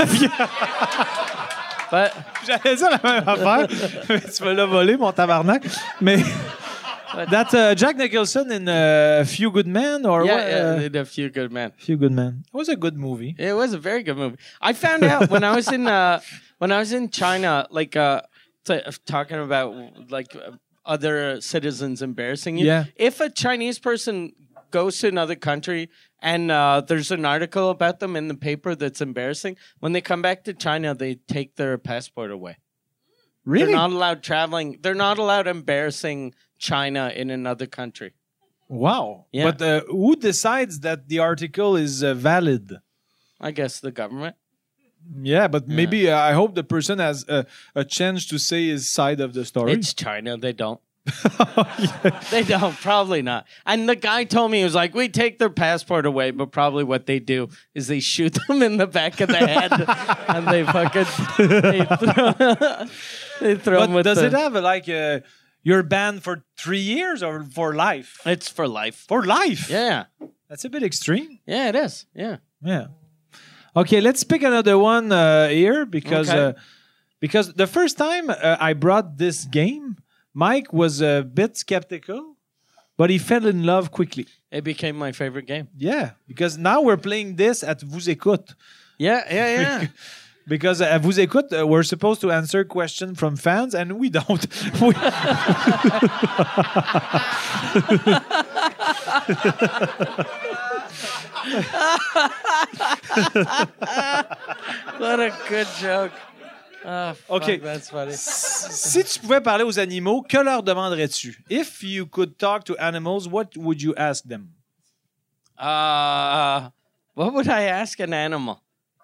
But j'allais dire la même affaire. Tu me l'as volé, mon tabarnak. Mais that's Jack Nicholson in A Few Good Men, or what? Yeah, A Few Good Men. Few Good Men. It was a good movie. It was a very good movie. I found out when I was in China, talking about other citizens embarrassing you. Yeah. If a Chinese person goes to another country and there's an article about them in the paper that's embarrassing, when they come back to China, they take their passport away. Really? They're not allowed traveling. They're not allowed embarrassing China in another country. Wow. Yeah. But who decides that the article is valid? I guess the government. Yeah, but maybe I hope the person has a chance to say his side of the story. It's China. They don't. They don't, probably not. And the guy told me, he was like, we take their passport away, but probably what they do is they shoot them in the back of the head and they throw them with does it have you're banned for 3 years or for life? It's for life. For life? Yeah. That's a bit extreme. Yeah, it is. Yeah. Yeah. Okay, let's pick another one here because the first time I brought this game, Mike was a bit skeptical, but he fell in love quickly. It became my favorite game. Yeah, because now we're playing this at Vous Écoute. Yeah. Because at Vous Écoute, we're supposed to answer questions from fans, and we don't. What a good joke. Oh, fuck, Okay. that's funny. Si tu pouvais parler aux animaux, que leur demanderais-tu? If you could talk to animals, what would you ask them? What would I ask an animal?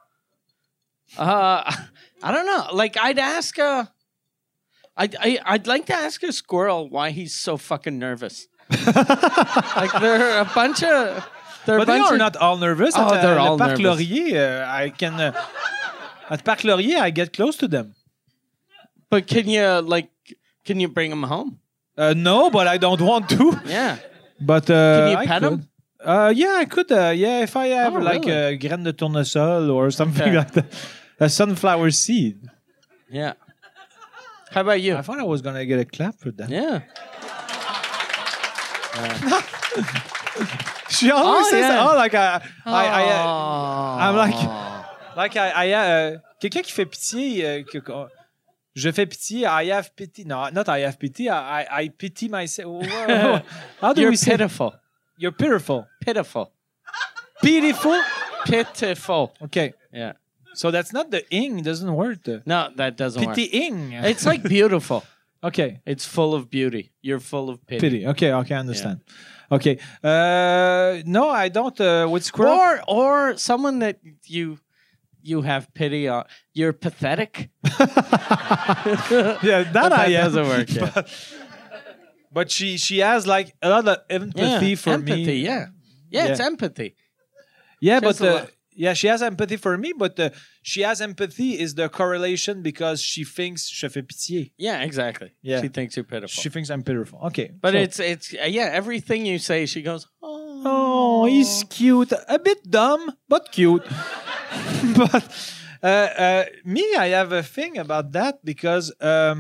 I don't know. Like I'd ask I'd like to ask a squirrel why he's so fucking nervous. Like they're a bunch of But they are not all nervous. Oh, At they're all Parc nervous. Laurier, I can... at Parc Laurier, I get close to them. But can you bring them home? No, but I don't want to. Yeah. But Can you I pet could. them? Yeah, I could. Yeah, if I have Oh, like really? a graine de tournesol or something Okay. like that. A sunflower seed. Yeah. How about you? I thought I was going to get a clap for that. Yeah. She always says, yeah. oh, like I'm like... Aw. Like quelqu'un qui fait pitié, je fais pitié. I have pity. No, not I have pity. I pity myself. How do You're we say? pitiful. You're pitiful. Pitiful. Pitiful. Pitiful. Okay, Yeah. so that's not the ing. Doesn't work. No, that doesn't work. Pitying. It's like beautiful. Okay. It's full of beauty. You're full of pity. Pity. Okay. I understand. Okay. No, I don't. With squirrel. Or someone that you have pity on. You're pathetic. Yeah, that That I am. doesn't work. Yeah. But she has like a lot of empathy for empathy, me. Yeah. Yeah, it's Yeah. empathy. Yeah, She has but a lot. yeah, she has empathy for me, but she has empathy is the correlation because she thinks je fais pitié. Yeah, exactly. Yeah. She thinks you're pitiful. She thinks I'm pitiful. Okay, but so- it's everything you say, she goes, oh. oh, he's cute, a bit dumb but cute. But me, I have a thing about that because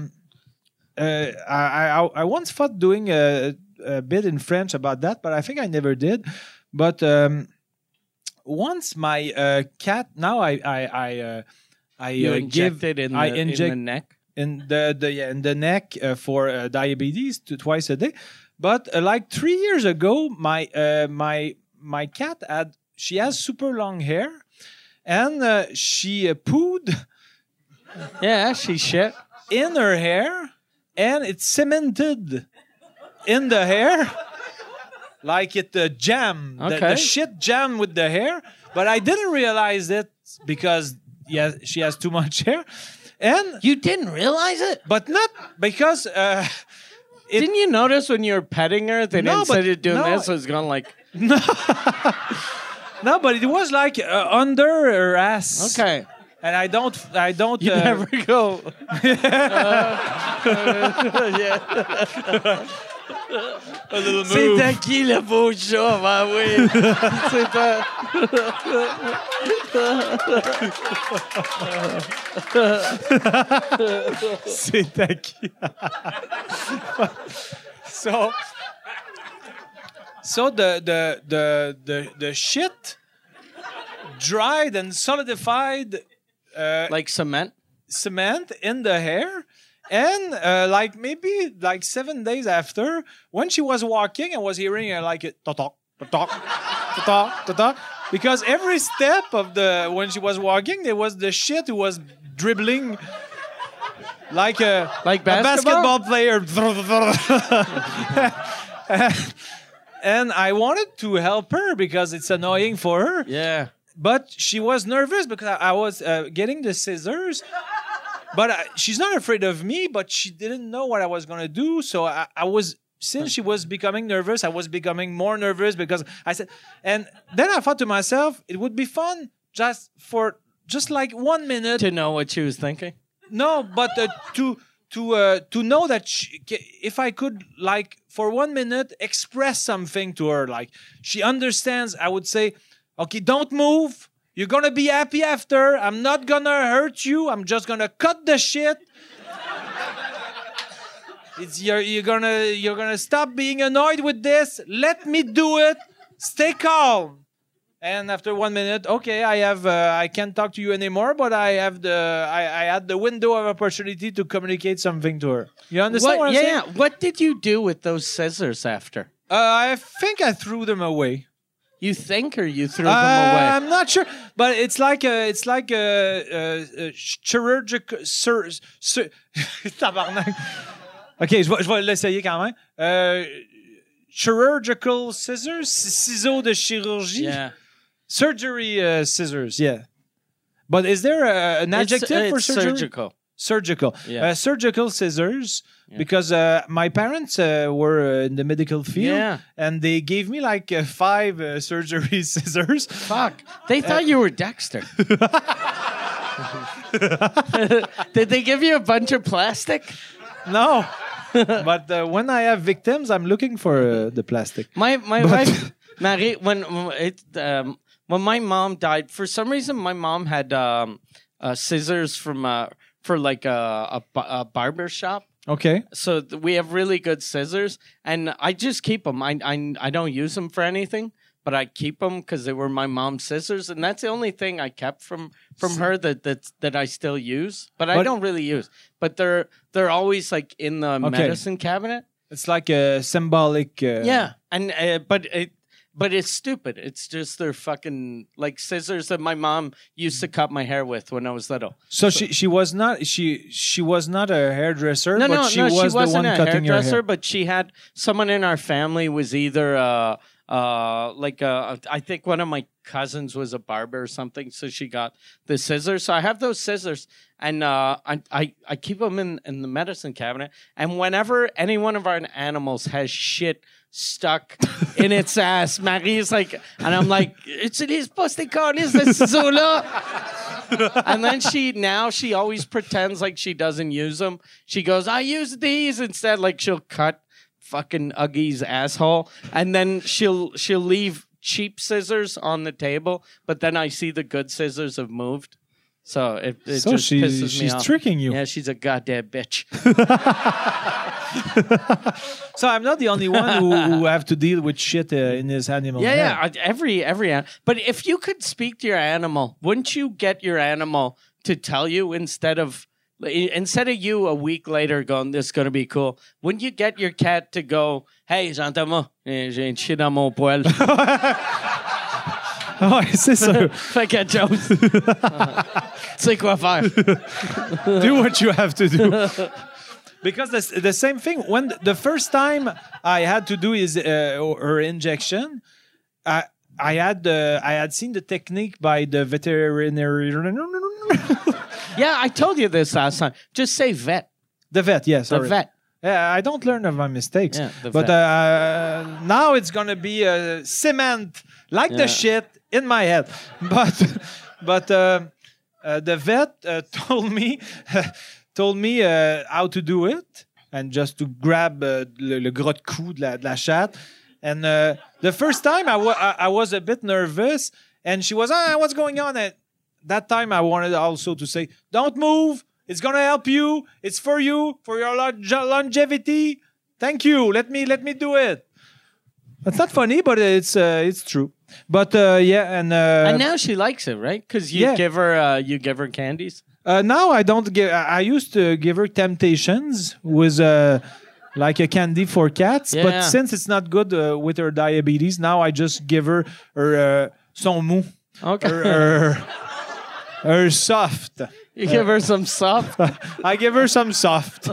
I once thought doing a bit in French about that, but I think I never did. But once my cat, now I You inject it in the neck. in the neck for diabetes twice a day. But like 3 years ago, my cat has super long hair, and she pooed Yeah, she shit. in her hair, and it's cemented in the hair. Like it jam. The Okay. shit jam with the hair. But I didn't realize it because she has too much hair. And You didn't realize it? but not because Didn't you notice when you were petting her that No, instead but- of doing no. this, it was going like, no, but it was like under her ass. okay. And I don't You never go. Yeah. a little C'est move. à qui le beau chat? Ben oui. C'est à... C'est à qui? So the shit dried and solidified Like cement? cement in the hair. And like maybe like 7 days after, when she was walking, I was hearing her like it ta-talk, ta-talk, ta-talk, ta-talk. Because every step of when she was walking, there was the shit who was dribbling like a basketball? basketball player. And I wanted to help her because it's annoying for her. Yeah. But she was nervous because I was getting the scissors. But she's not afraid of me, but she didn't know what I was going to do. So I was, since she was becoming nervous, I was becoming more nervous because I said, and then I thought to myself, it would be fun just like 1 minute. To know what she was thinking? No, but to know that if I could, like, for 1 minute express something to her, like she understands, I would say, okay, don't move. You're gonna be happy after. I'm not gonna hurt you. I'm just gonna cut the shit. You're gonna stop being annoyed with this. Let me do it. Stay calm. And after 1 minute, okay, I can't talk to you anymore, but I had the window of opportunity to communicate something to her. You understand what I'm saying? Yeah. What did you do with those scissors after? I think I threw them away. You think, or you threw them away? I'm not sure, but it's like a chirurgical. Tabarnak. Ok, je vais l'essayer quand même. Chirurgical scissors, ciseaux de chirurgie. Yeah. Surgery scissors, yeah. But is there an adjective for surgery? Surgical. Surgical. Yeah. Surgical scissors, because my parents were in the medical field, and they gave me like 5 surgery scissors. Fuck. They thought you were Dexter. Did they give you a bunch of plastic? No. But when I have victims, I'm looking for the plastic. My wife, Marie, when my mom died, for some reason, my mom had scissors for like a barber shop. Okay. So we have really good scissors, and I just keep them. I don't use them for anything, but I keep them because they were my mom's scissors, and that's the only thing I kept from her that I still use. But I don't really use. But they're always like in the medicine cabinet. It's like a symbolic. Yeah, and but it's stupid. It's just they're fucking like scissors that my mom used to cut my hair with when I was little. So she was not she was not a hairdresser, No, but she was she wasn't the one a cutting your hairdresser, hair. but she had someone in our family was either I think one of my cousins was a barber or something, so she got the scissors. So I have those scissors, and I keep them in the medicine cabinet. And whenever any one of our animals has shit stuck in its ass, Marie's like, and I'm like, utilise pas tes câlisses de ciseaux-là. And then she always pretends like she doesn't use them. She goes, I use these instead. Like she'll cut fucking Uggy's asshole, and then she'll leave cheap scissors on the table, but then I see the good scissors have moved. So it just pisses me off. She's tricking you. Yeah, she's a goddamn bitch. So I'm not the only one who have to deal with shit in his animal. Yeah. Every but if you could speak to your animal, wouldn't you get your animal to tell you instead of you a week later going, this is going to be cool? Wouldn't you get your cat to go, hey, Jean-Thomas, j'ai un chien dans mon poil. Ouais, c'est ça. Fait que Jones, tu sais quoi faire. Do what you have to do. Because the same thing, when the first time I had to do her injection, I had seen the technique by the veterinarian. Yeah, I told you this last time. Just say vet. The vet, yes. The vet. Yeah, I don't learn of my mistakes. Yeah, but now it's going to be cement, like the shit, in my head. But the vet told me how to do it, and just to grab le gros de cou de la chatte. And the first time I was a bit nervous, and she was, what's going on? And that time I wanted also to say, don't move. It's going to help you. It's for you, for your longevity. Thank you. Let me do it. That's not funny, but it's true. But and now she likes it, right? Because you give her candies. Now I don't give. I used to give her Temptations with like a candy for cats, but since it's not good with her diabetes, now I just give her son mou. Okay. Her soft. You give her some soft? I give her some soft.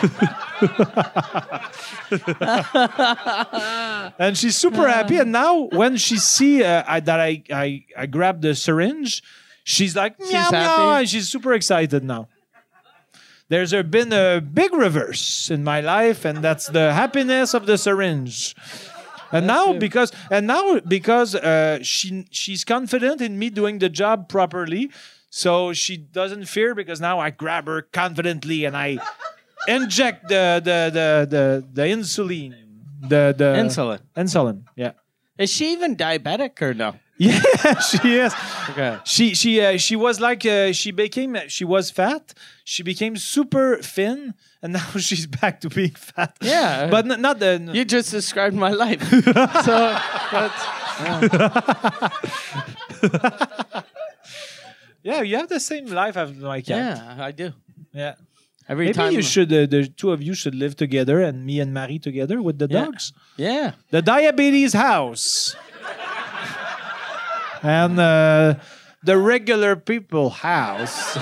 And she's super happy. And now when she see that I grab the syringe, she's like, meow, meow, and she's super excited now. There's been a big reverse in my life, and that's the happiness of the syringe. And now because she's confident in me doing the job properly, so she doesn't fear, because now I grab her confidently and I inject the insulin. The Insulin. Yeah. Is she even diabetic or no? Yeah, she is. Okay. She was like she was fat. She became super thin, and now she's back to being fat. Yeah, but not the. You just described my life. So that's. Yeah, you have the same life as my cat. Yeah, I do. Yeah. Every Maybe time you should. The two of you should live together, and me and Marie together with the dogs. Yeah. The diabetes house. And the regular people house.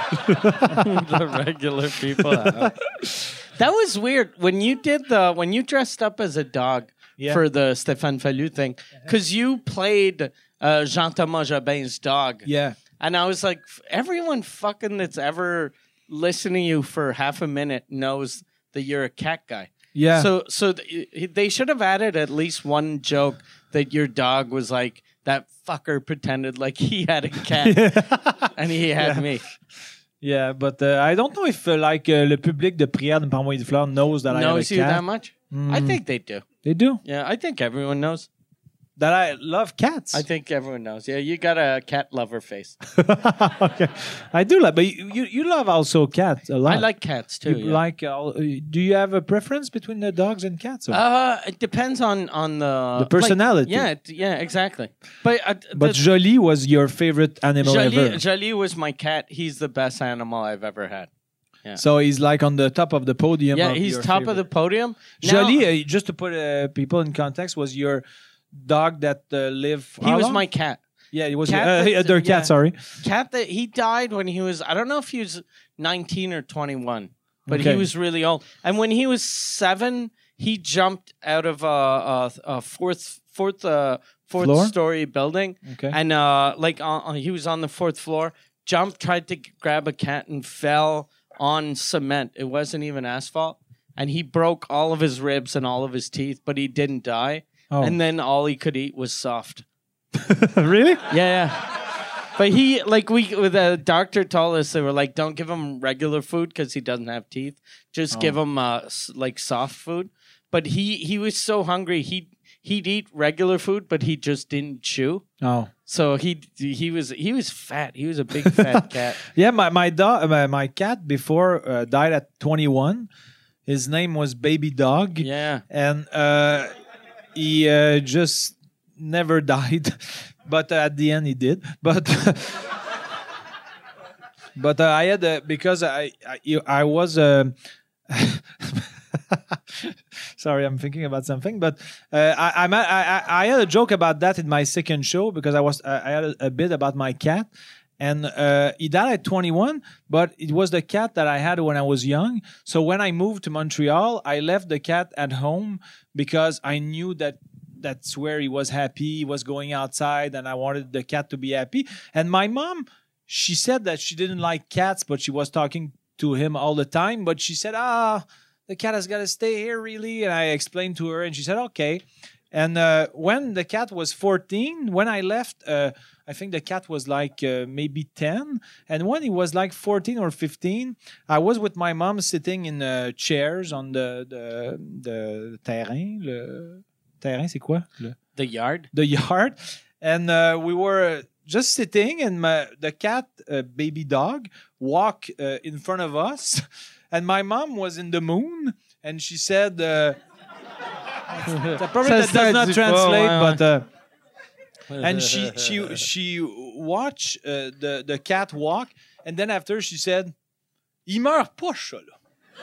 The regular people. That was weird when you dressed up as a dog for the Stéphane Fallu thing, because you played Jean-Thomas Jobin's dog. Yeah. And I was like, everyone fucking that's ever listened to you for half a minute knows that you're a cat guy. Yeah. So they should have added at least one joke that your dog was like, that fucker pretended like he had a cat and he had me. Yeah, but I don't know if le public de Prière de Parmois de Fleurs knows that I have a cat. Knows you that much? I think they do. They do? Yeah, I think everyone knows. That I love cats. I think everyone knows. Yeah, you got a cat lover face. Okay. I do like, but you love also cats a lot. I like cats too. You like? Do you have a preference between the dogs and cats? Or? It depends on the personality. Yeah, exactly. But Jolie was your favorite animal ever. Jolie was my cat. He's the best animal I've ever had. Yeah. So he's like on the top of the podium. Yeah, he's top of the podium. Jolie, just to put people in context, was your dog that lived. He was my cat. Yeah, he was their cat. Sorry, cat that he died when he was. I don't know if he was 19 or 21, but he was really old. And when he was 7, he jumped out of a fourth story building. Okay, and he was on the 4th floor. Jumped, tried to grab a cat, and fell on cement. It wasn't even asphalt, and he broke all of his ribs and all of his teeth, but he didn't die. Oh. And then all he could eat was soft. Really? Yeah. But the doctor told us, they were like, don't give him regular food because he doesn't have teeth. Just give him soft food. But he was so hungry, he'd eat regular food, but he just didn't chew. Oh. So he was fat. He was a big fat cat. Yeah, my cat before died at 21. His name was Baby Dog. Yeah. And he just never died, but at the end he did. But I had because I was sorry, I'm thinking about something. But I had a joke about that in my second show because I had a bit about my cat. And he died at 21, but it was the cat that I had when I was young. So when I moved to Montreal, I left the cat at home because I knew that's where he was happy. He was going outside, and I wanted the cat to be happy. And my mom, she said that she didn't like cats, but she was talking to him all the time. But she said, the cat has got to stay here, really. And I explained to her, and she said, okay. And when the cat was 14, when I left, I think the cat was like maybe 10. And when he was like 14 or 15, I was with my mom sitting in chairs on the terrain. Le terrain, c'est quoi? The yard. The yard. And we were just sitting, and the cat, Baby Dog, walked in front of us. And my mom was in the moon, and she said... that does not translate, but and she watched the cat walk, and then after she said, "Il meurt pas, ça là."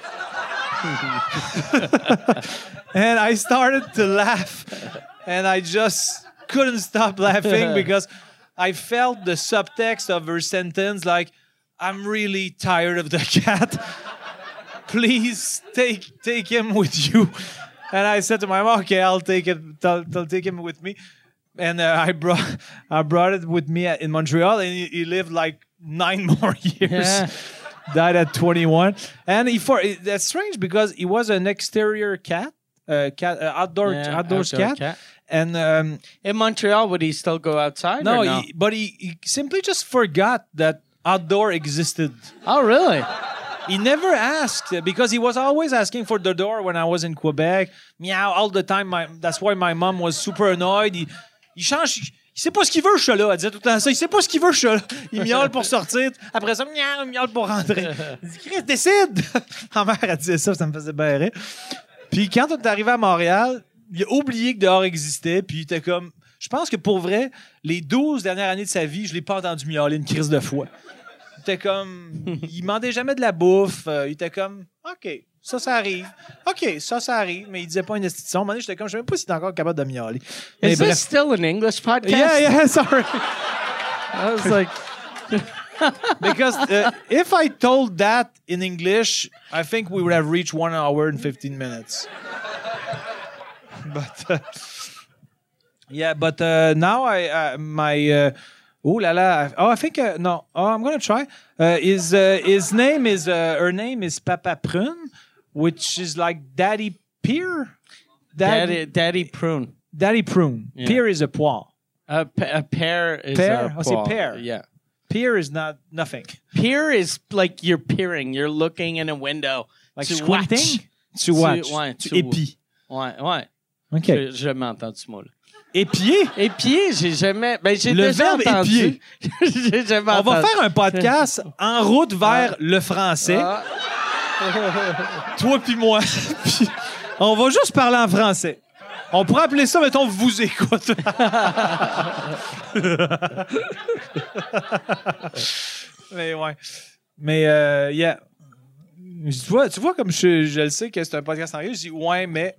And I started to laugh, and I just couldn't stop laughing because I felt the subtext of her sentence, like, "I'm really tired of the cat. Please take him with you." And I said to my mom, "Okay, I'll take it. I'll take him with me." And I brought it with me in Montreal, and he lived like 9 more years. Yeah. Died at 21, and that's strange because he was an exterior cat, outdoors cat. And in Montreal, would he still go outside? No, but he simply just forgot that outdoor existed. Oh, really? he never asked because he was always asking for the door when I was in Quebec. Meow all the time. That's why my mom was super annoyed. Il change. Il sait pas ce qu'il veut, ce chat-là. Elle disait tout le temps ça. Il sait pas ce qu'il veut, ce chat-là. Il miaule pour sortir. Après ça, il miaule pour rentrer. Il dit, Chris, décide! Ma mère, elle disait ça me faisait bien rire. Puis quand on est arrivé à Montréal, il a oublié que dehors existait. Puis il était comme... Je pense que pour vrai, les 12 dernières années de sa vie, je l'ai pas entendu miauler une crise de foi. Il était comme... Il demandait jamais de la bouffe. Il était comme... OK, ça arrive. OK, ça arrive. Mais il disait pas une institution. À un moment donné, j'étais comme... Je sais même pas s'il est encore capable de miauler. Is this still an English podcast? Yeah, sorry. I was like... Because if I told that in English, I think we would have reached 1 hour and 15 minutes. But now I think no. Oh, I'm gonna try. His name is her name is Papa Prune, which is like Daddy Pear. Daddy Prune. Daddy Prune. Yeah. Pear is a poire. A pear is pear? a poire. Pear. Yeah. Peer is nothing. Peer is like you're peering. You're looking in a window. Like to squinting? Watch. To watch. Ouais, to épi. Ouais. OK. J'ai jamais entendu ce mot-là. Épier? Épier, j'ai jamais... Ben, j'ai le déjà verbe entendu. épier. J'ai jamais On entendu. va faire un podcast en route vers le français. Toi puis moi. Puis on va juste parler en français. On pourrait appeler ça, mettons, vous écoute. Mais ouais. Mais, yeah. Tu vois comme je le sais que c'est un podcast en anglais, je dis ouais, mais.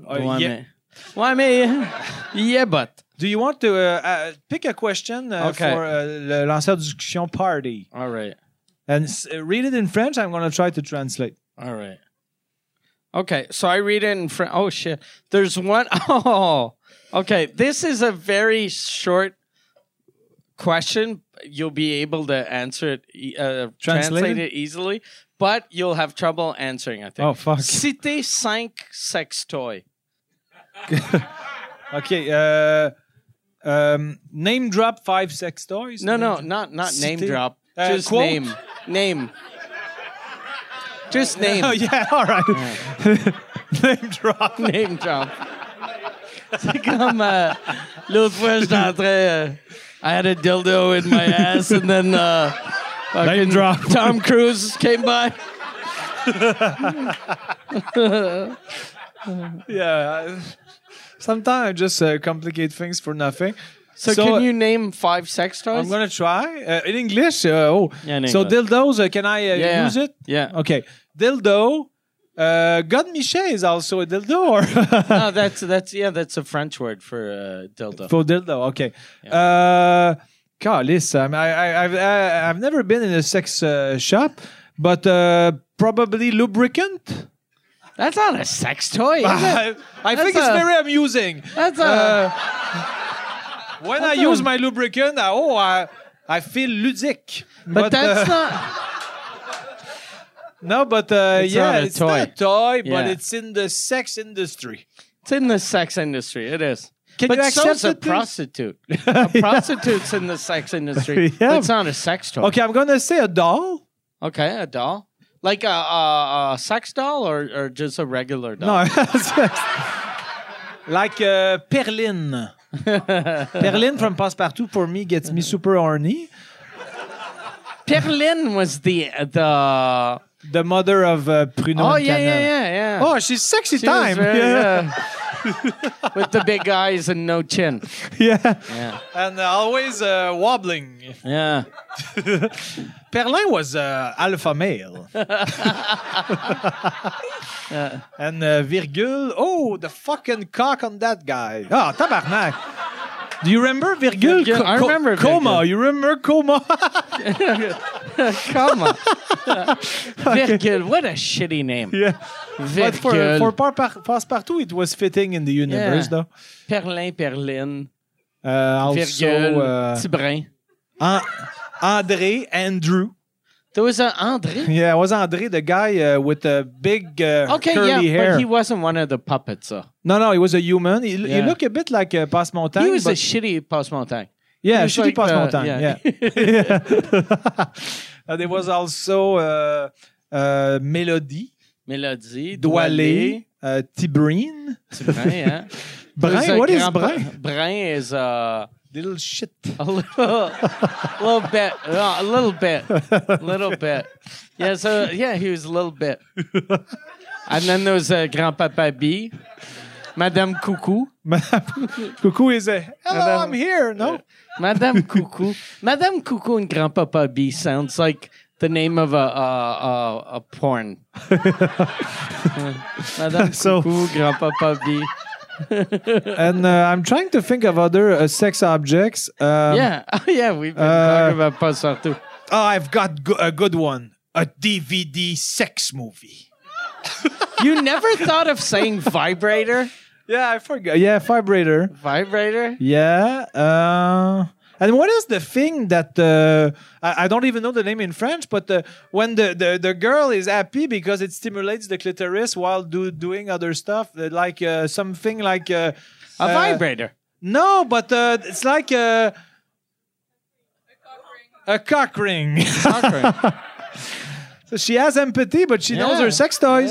Yeah, but. Do you want to pick a question for le lanceur de discussion party? All right. And read it in French. I'm going to try to translate. All right. Okay, so I read it in French. Oh, shit. There's one. Oh, okay. This is a very short question. You'll be able to answer it, translate it easily, but you'll have trouble answering, I think. Oh, fuck. Citez 5 sex toys. Okay. Name drop 5 sex toys? No, not name drop. Just quote? Name. Just name. Oh, yeah, all right. Name drop. Name drop. C'est comme l'autre fois, j'étais en train... I had a dildo in my ass, and then Name drop. Tom Cruise came by. Yeah. Sometimes I just complicate things for nothing. So can you name 5 sex toys? I'm going to try. In English? Yeah, in so English. dildos, can I use it? Yeah. Okay. Dildo. God Miché is also a dildo? Or No, that's a French word for dildo. For dildo, okay. Yeah. Calice, I've never been in a sex shop, but probably lubricant? That's not a sex toy, is it? I think it's very amusing. That's a... When I use my lubricant, I feel ludique. But that's not... No, but It's not a it's toy. not a toy, but Yeah. it's in the sex industry. It's in the sex industry. It is. Can but you accept so's a it, please? prostitute. A prostitute's in the sex industry. Yeah. But it's not a sex toy. Okay, I'm going to say a doll. Okay, a doll. Like a sex doll or just a regular doll? No, like Perline. Perline from Passepartout for me gets me super horny. Perline was the The mother of Pruno. Oh, and Canel. yeah. Oh, she's sexy She was time. very, Yeah. with the big eyes and no chin. Yeah. Yeah. And always wobbling. Yeah. Perlin was alpha male. And Virgule, oh, the fucking cock on that guy. Oh, tabarnak. Do you remember Virgule? Virgule, I remember Coma. Virgule. You remember Coma? Come on. Virgule, what a shitty name. Yeah. But Virgule. for Passepartout, it was fitting in the universe, Yeah. though. Perlin, Perline, Also, Virgule, Tibrin. André, Andrew. There was an André. Yeah, it was André, the guy with the big curly hair. but he wasn't one of the puppets, though. No, he was a human. He Yeah. looked a bit like Passe-Montagne. He was a but- shitty Passe-Montagne. Yeah, he was shitty like Passe-Montagne. yeah. Yeah. There was also Mélodie, Mélodie, Doualé, Tibrine. Tibrine, yeah. Brun, what is Brun? Brun is Little shit. a little bit, a little bit. Yeah, so yeah, he was a little bit. And then there was Grandpapa B, Madame Coucou. Coucou is a hello, Madame- I'm here. No, Madame Coucou. Madame Coucou and Grandpapa B sounds like the name of a porn. Madame So- Coucou, Grandpapa B. and I'm trying to think of other sex objects. Yeah, we've been talking about Passepartout. Oh, I've got a good one. A DVD sex movie. You never thought of saying vibrator? Yeah, I forgot. Yeah, vibrator. Vibrator? Yeah. And what is the thing that I don't even know the name in French, but when the girl is happy because it stimulates the clitoris while doing other stuff, like something like A vibrator. No, but it's like a cock ring. So she has empathy, but she knows her sex toys.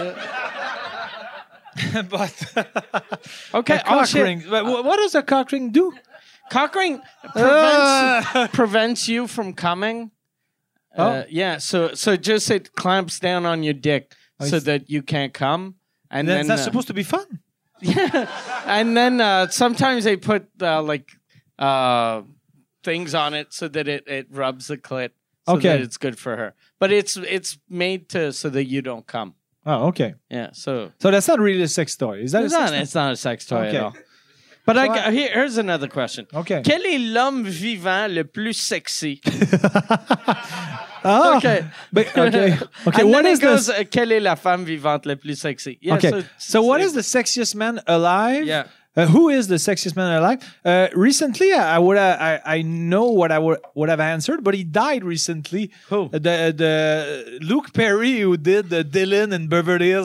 But Okay, a cock ring. But what does a cock ring do? Cock ring prevents you from coming. Yeah, so just it clamps down on your dick so that you can't come. And then That's supposed to be fun. and then sometimes they put things on it so that it rubs the clit. So Okay. that it's good for her. But it's made so that you don't come. Oh, okay. Yeah, so So that's not really a sex toy. Is that it's a not, sex it's not a sex toy Okay. at all. But So here's another question. Okay. Quel est l'homme vivant le plus sexy? Ah, Okay. Okay. Okay. And What then is it goes, this? quelle est la femme vivante la plus sexy? Yeah, Okay. So what is the sexiest man alive? Yeah. Who is the sexiest man alive? Recently, I know what I would have answered, but he died recently. Who? The Luke Perry who did the Dylan in Beverly Hills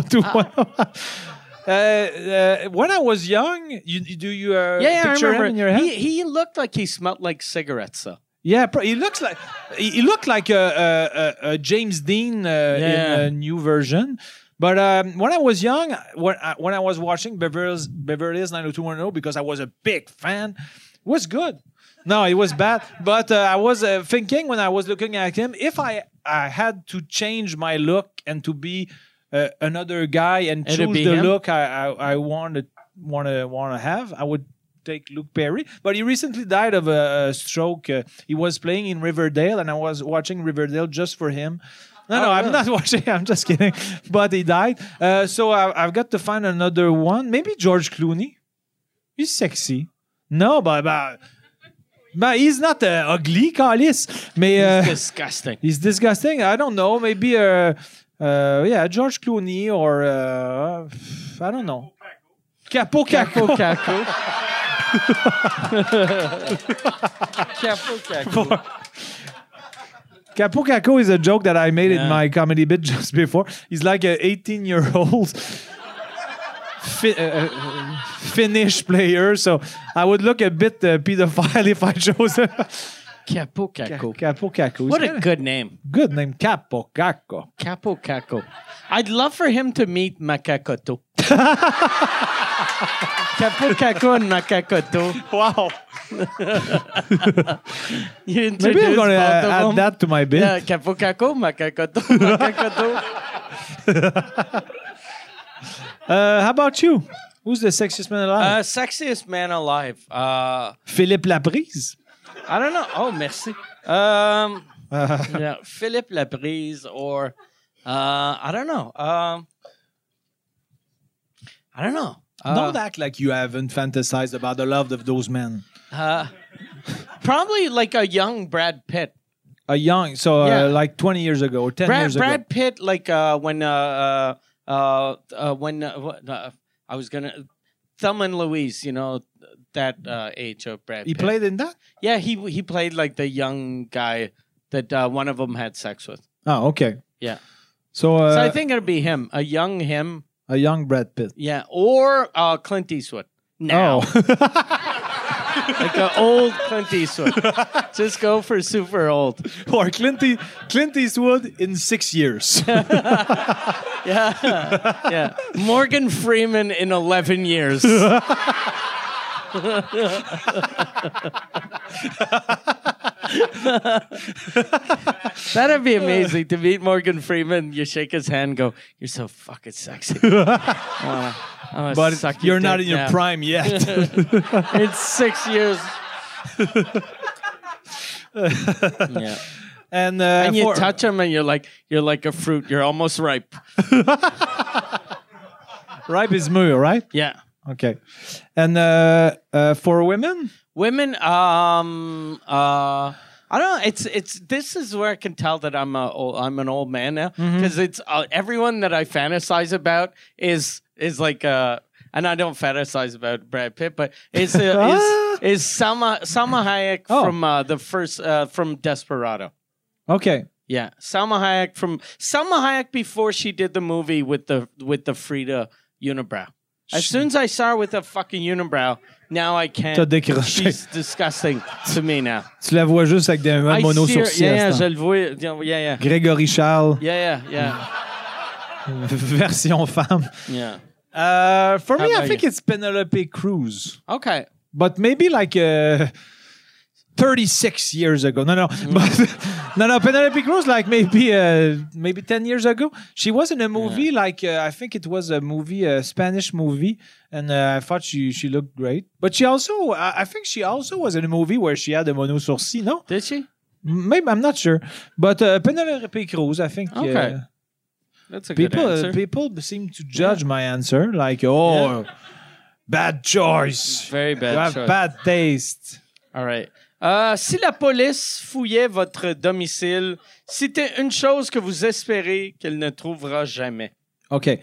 90210. When I was young, you Yeah, I picture him remember. in your head? He looked like he smelled like cigarettes, though. Yeah, he looked like a James Dean in a new version. But when I was young, when I was watching Beverly Hills 90210, because I was a big fan, it was good. No, it was bad. But I was thinking when I was looking at him, if I had to change my look and to be another guy and It'd choose be the him? look I want to have, I would take Luke Perry. But he recently died of a stroke. He was playing in Riverdale, and I was watching Riverdale just for him. No, I'm not watching. I'm just kidding. But he died. So I've got to find another one. Maybe George Clooney. He's sexy. No, but he's not ugly, Carlis. Mais Disgusting. he's disgusting. I don't know. Maybe George Clooney or I don't know. Capo Caco. Capo Caco. Capo Caco is a joke that I made in my comedy bit just before. He's like an 18-year-old Finnish player, so I would look a bit pedophile if I chose him. Capo Caco. Capo Caco. What a good name. good name, Capo Caco. Capo Caco. I'd love for him to meet Macacoto. Capo Caco and Macacoto. Wow. You Maybe I'm going to both of add them. that to my bit. Yeah, Capo Caco, Macacoto, Macacoto. How about you? Who's the sexiest man alive? Sexiest man alive. Philippe Laprise. I don't know. Oh, merci. Yeah, Philippe Laprise or I don't know. I don't know. Don't act like you haven't fantasized about the love of those men. Probably like a young Brad Pitt. A young, so Yeah. like 20 years ago or 10 years ago. Brad Pitt, like when I was gonna Thelma and Louise, you know that age of Brad He Pitt. played in that? Yeah, he played like the young guy that one of them had sex with. Oh, okay. Yeah, So, so I think it'd be him, a young him. a young Brad Pitt. Yeah, or Clint Eastwood. Now, Oh. Like an old Clint Eastwood. Just go for super old. Or Clint Eastwood in 6 years. Yeah. Morgan Freeman in 11 years. That'd be amazing to meet Morgan Freeman. You shake his hand, go, "You're so fucking sexy." But you're not in your prime yet. It's 6 years. Yeah. And you touch him, and you're like a fruit. You're almost ripe. Ripe is mûr, right? Yeah. Okay. And for women? Women, I don't know. It's. This is where I can tell that I'm an old man now because it's everyone that I fantasize about is like and I don't fantasize about Brad Pitt, but is Salma Hayek from Desperado. Okay. Yeah, Salma Hayek before she did the movie with the Frida unibrow. As soon as I saw her with a fucking unibrow, now I can't. T'as décroché. She's disgusting to me now. Tu la vois juste avec des mono-sourcils. Yeah, je le vois. Yeah. Grégory Charles. Yeah. Version femme. Yeah. For me, How I think it's Penelope Cruz. Okay. But maybe like 36 years ago. No. But, no. Penelope Cruz, like maybe 10 years ago. She was in a movie, I think it was a movie, a Spanish movie. And I thought she looked great. But she also, I think she also was in a movie where she had a mono sourcil, no? Did she? Maybe, I'm not sure. But Penelope Cruz, I think. Okay. That's a good answer. People seem to judge my answer. Like, bad choice. Very bad you have choice. bad taste. All right. Si la police fouillait votre domicile, c'était une chose que vous espérez qu'elle ne trouvera jamais. Okay.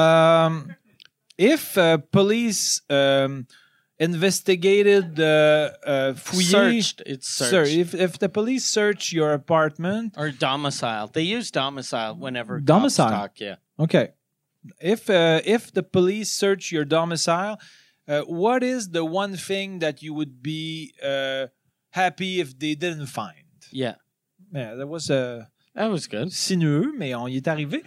If police investigated fouillé, Searched. It's searched. if the police search your apartment Or domicile. They use domicile whenever Domicile. cops talk. Yeah. okay, if the police search your domicile, what is the one thing that you would be happy if they didn't find? Yeah. Yeah, that was That was good. sinueux, mais on y est arrivé.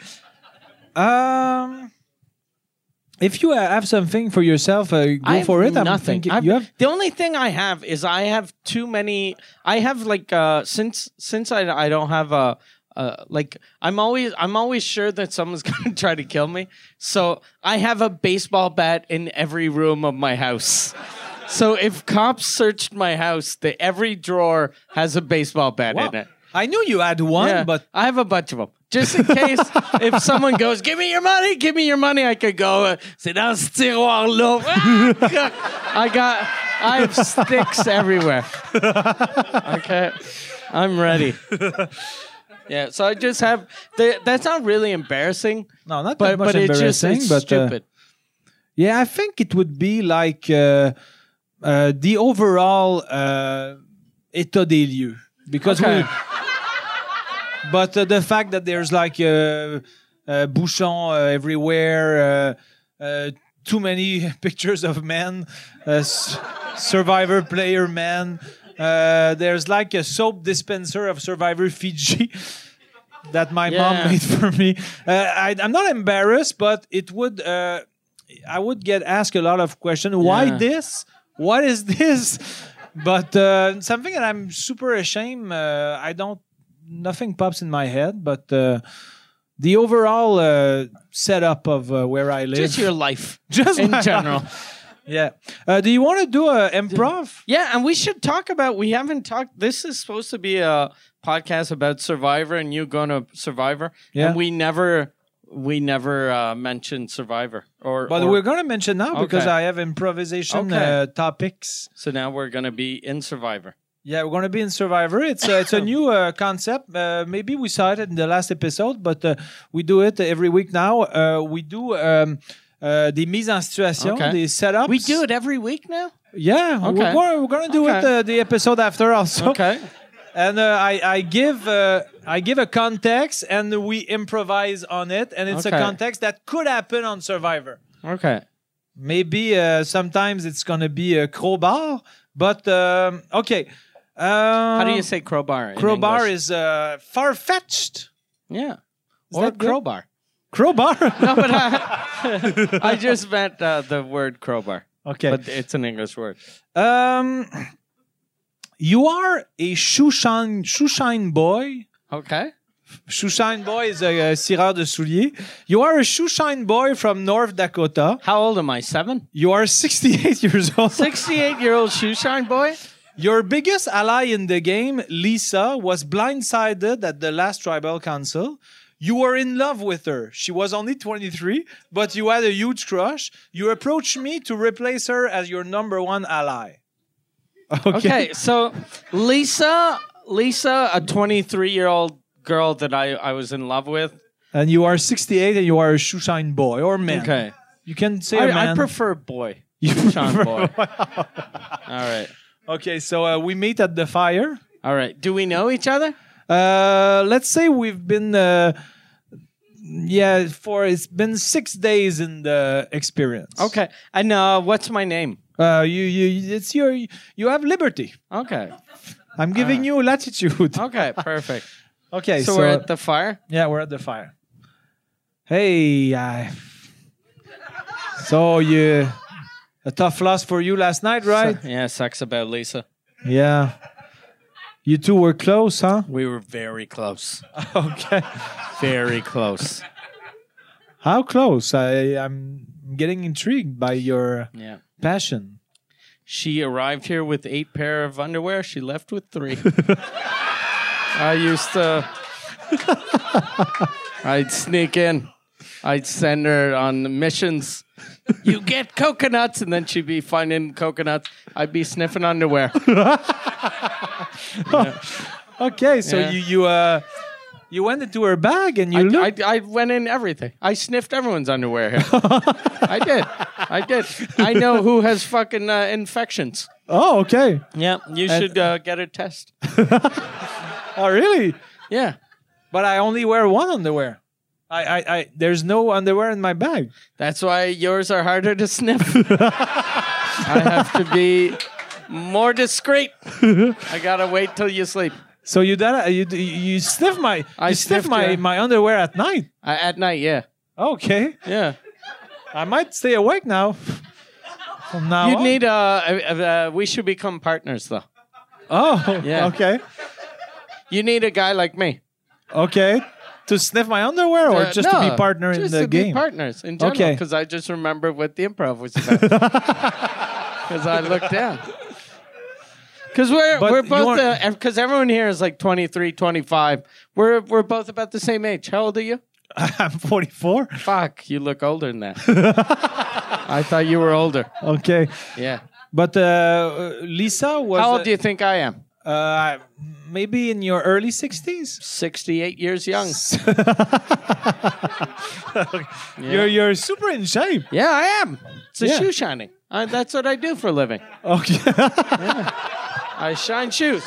If you have something for yourself, go for it. Nothing. You have The only thing I have is I have too many. I have like since I don't have a like I'm always sure that someone's gonna try to kill me. So I have a baseball bat in every room of my house. So if cops searched my house, every drawer has a baseball bat in it. I knew you had one, Yeah, but I have a bunch of them. Just in case if someone goes, give me your money, I could go, c'est dans ce tiroir-là. I have sticks everywhere. Okay. I'm ready. Yeah, so I just have, that's not really embarrassing. no, not But, that much but it's embarrassing. just, but it's stupid. yeah, I think it would be like the overall état des lieux because Okay. But the fact that there's like bouchons everywhere, too many pictures of men, Survivor player men. There's like a soap dispenser of Survivor Fiji that my mom made for me. I'm not embarrassed, but it would. I would get asked a lot of questions. Why this? What is this? But something that I'm super ashamed. I don't. Nothing pops in my head, but the overall setup of where I live. Just your life. Just in my general. life. Yeah. Do you want to do a improv? Yeah, and we should talk about, we haven't talked, this is supposed to be a podcast about Survivor and you going to Survivor. Yeah. And we never mentioned Survivor. But we're going to mention now because Okay. I have improvisation Okay. topics. So now we're going to be in Survivor. Yeah, we're going to be in Survivor. It's a new concept. Maybe we saw it in the last episode, but we do it every week now. We do des mises en situation, Okay. des setups. We do it every week now? Yeah, Okay. we're going to do it the episode after also. Okay. And I give a context, and we improvise on it, and it's a Okay. context that could happen on Survivor. Okay. Maybe sometimes it's gonna be a crowbar, but okay. How do you say crowbar? Crowbar in is far-fetched. yeah, Is or that good? crowbar. Crowbar. No, but I just meant the word crowbar. Okay. But it's an English word. You are a shoeshine boy. Okay. Shoeshine boy is a cireur de souliers. You are a shoeshine boy from North Dakota. How old am I? 7? You are 68 years old. 68-year-old shoeshine boy? Your biggest ally in the game, Lisa, was blindsided at the last tribal council. You were in love with her. She was only 23, but you had a huge crush. You approached me to replace her as your number one ally. Okay, so Lisa, a 23-year-old girl that I was in love with. And you are 68 and you are a shoeshine boy or man. Okay. You can say a man. I prefer boy. You Shoeshine boy. All right. Okay, so we meet at the fire. All right. Do we know each other? Let's say we've been, it's been 6 days in the experience. Okay. And what's my name? You have liberty. Okay. I'm giving you latitude. Okay, perfect. Okay, So we're at the fire? Yeah, we're at the fire. Hey, so a tough loss for you last night, right? Yeah, sucks about Lisa. Yeah. You two were close, huh? We were very close. Okay. Very close. How close? I'm getting intrigued by your passion. She arrived here with 8 pair of underwear. She left with 3. I'd sneak in. I'd send her on missions. You get coconuts, and then she'd be finding coconuts. I'd be sniffing underwear. Okay, so you went into her bag and you looked. I went in everything. I sniffed everyone's underwear here. I did. I know who has fucking infections. Oh, okay. Yeah, you should get a test. Oh, really? Yeah. But I only wear one underwear. There's no underwear in my bag. That's why yours are harder to sniff. I have to be more discreet. I gotta wait till you sleep. So you sniff my underwear at night. At night, yeah. Okay. Yeah. I might stay awake now. From now You'd on. need we should become partners though. Oh, Yeah. Okay. You need a guy like me. Okay. To sniff my underwear or just to be partner in the just to game? be partners in general. Okay. Because I just remember what the improv was about. Because I looked down. Because we're both because everyone here is like 23, 25. We're both about the same age. How old are you? I'm 44. Fuck, you look older than that. I thought you were older. Okay. Yeah. But Lisa was... How old do you think I am? Maybe in your early 60s? 68 years young. You're super in shape. Yeah, I am. It's a shoe shining. That's what I do for a living. Okay. I shine shoes.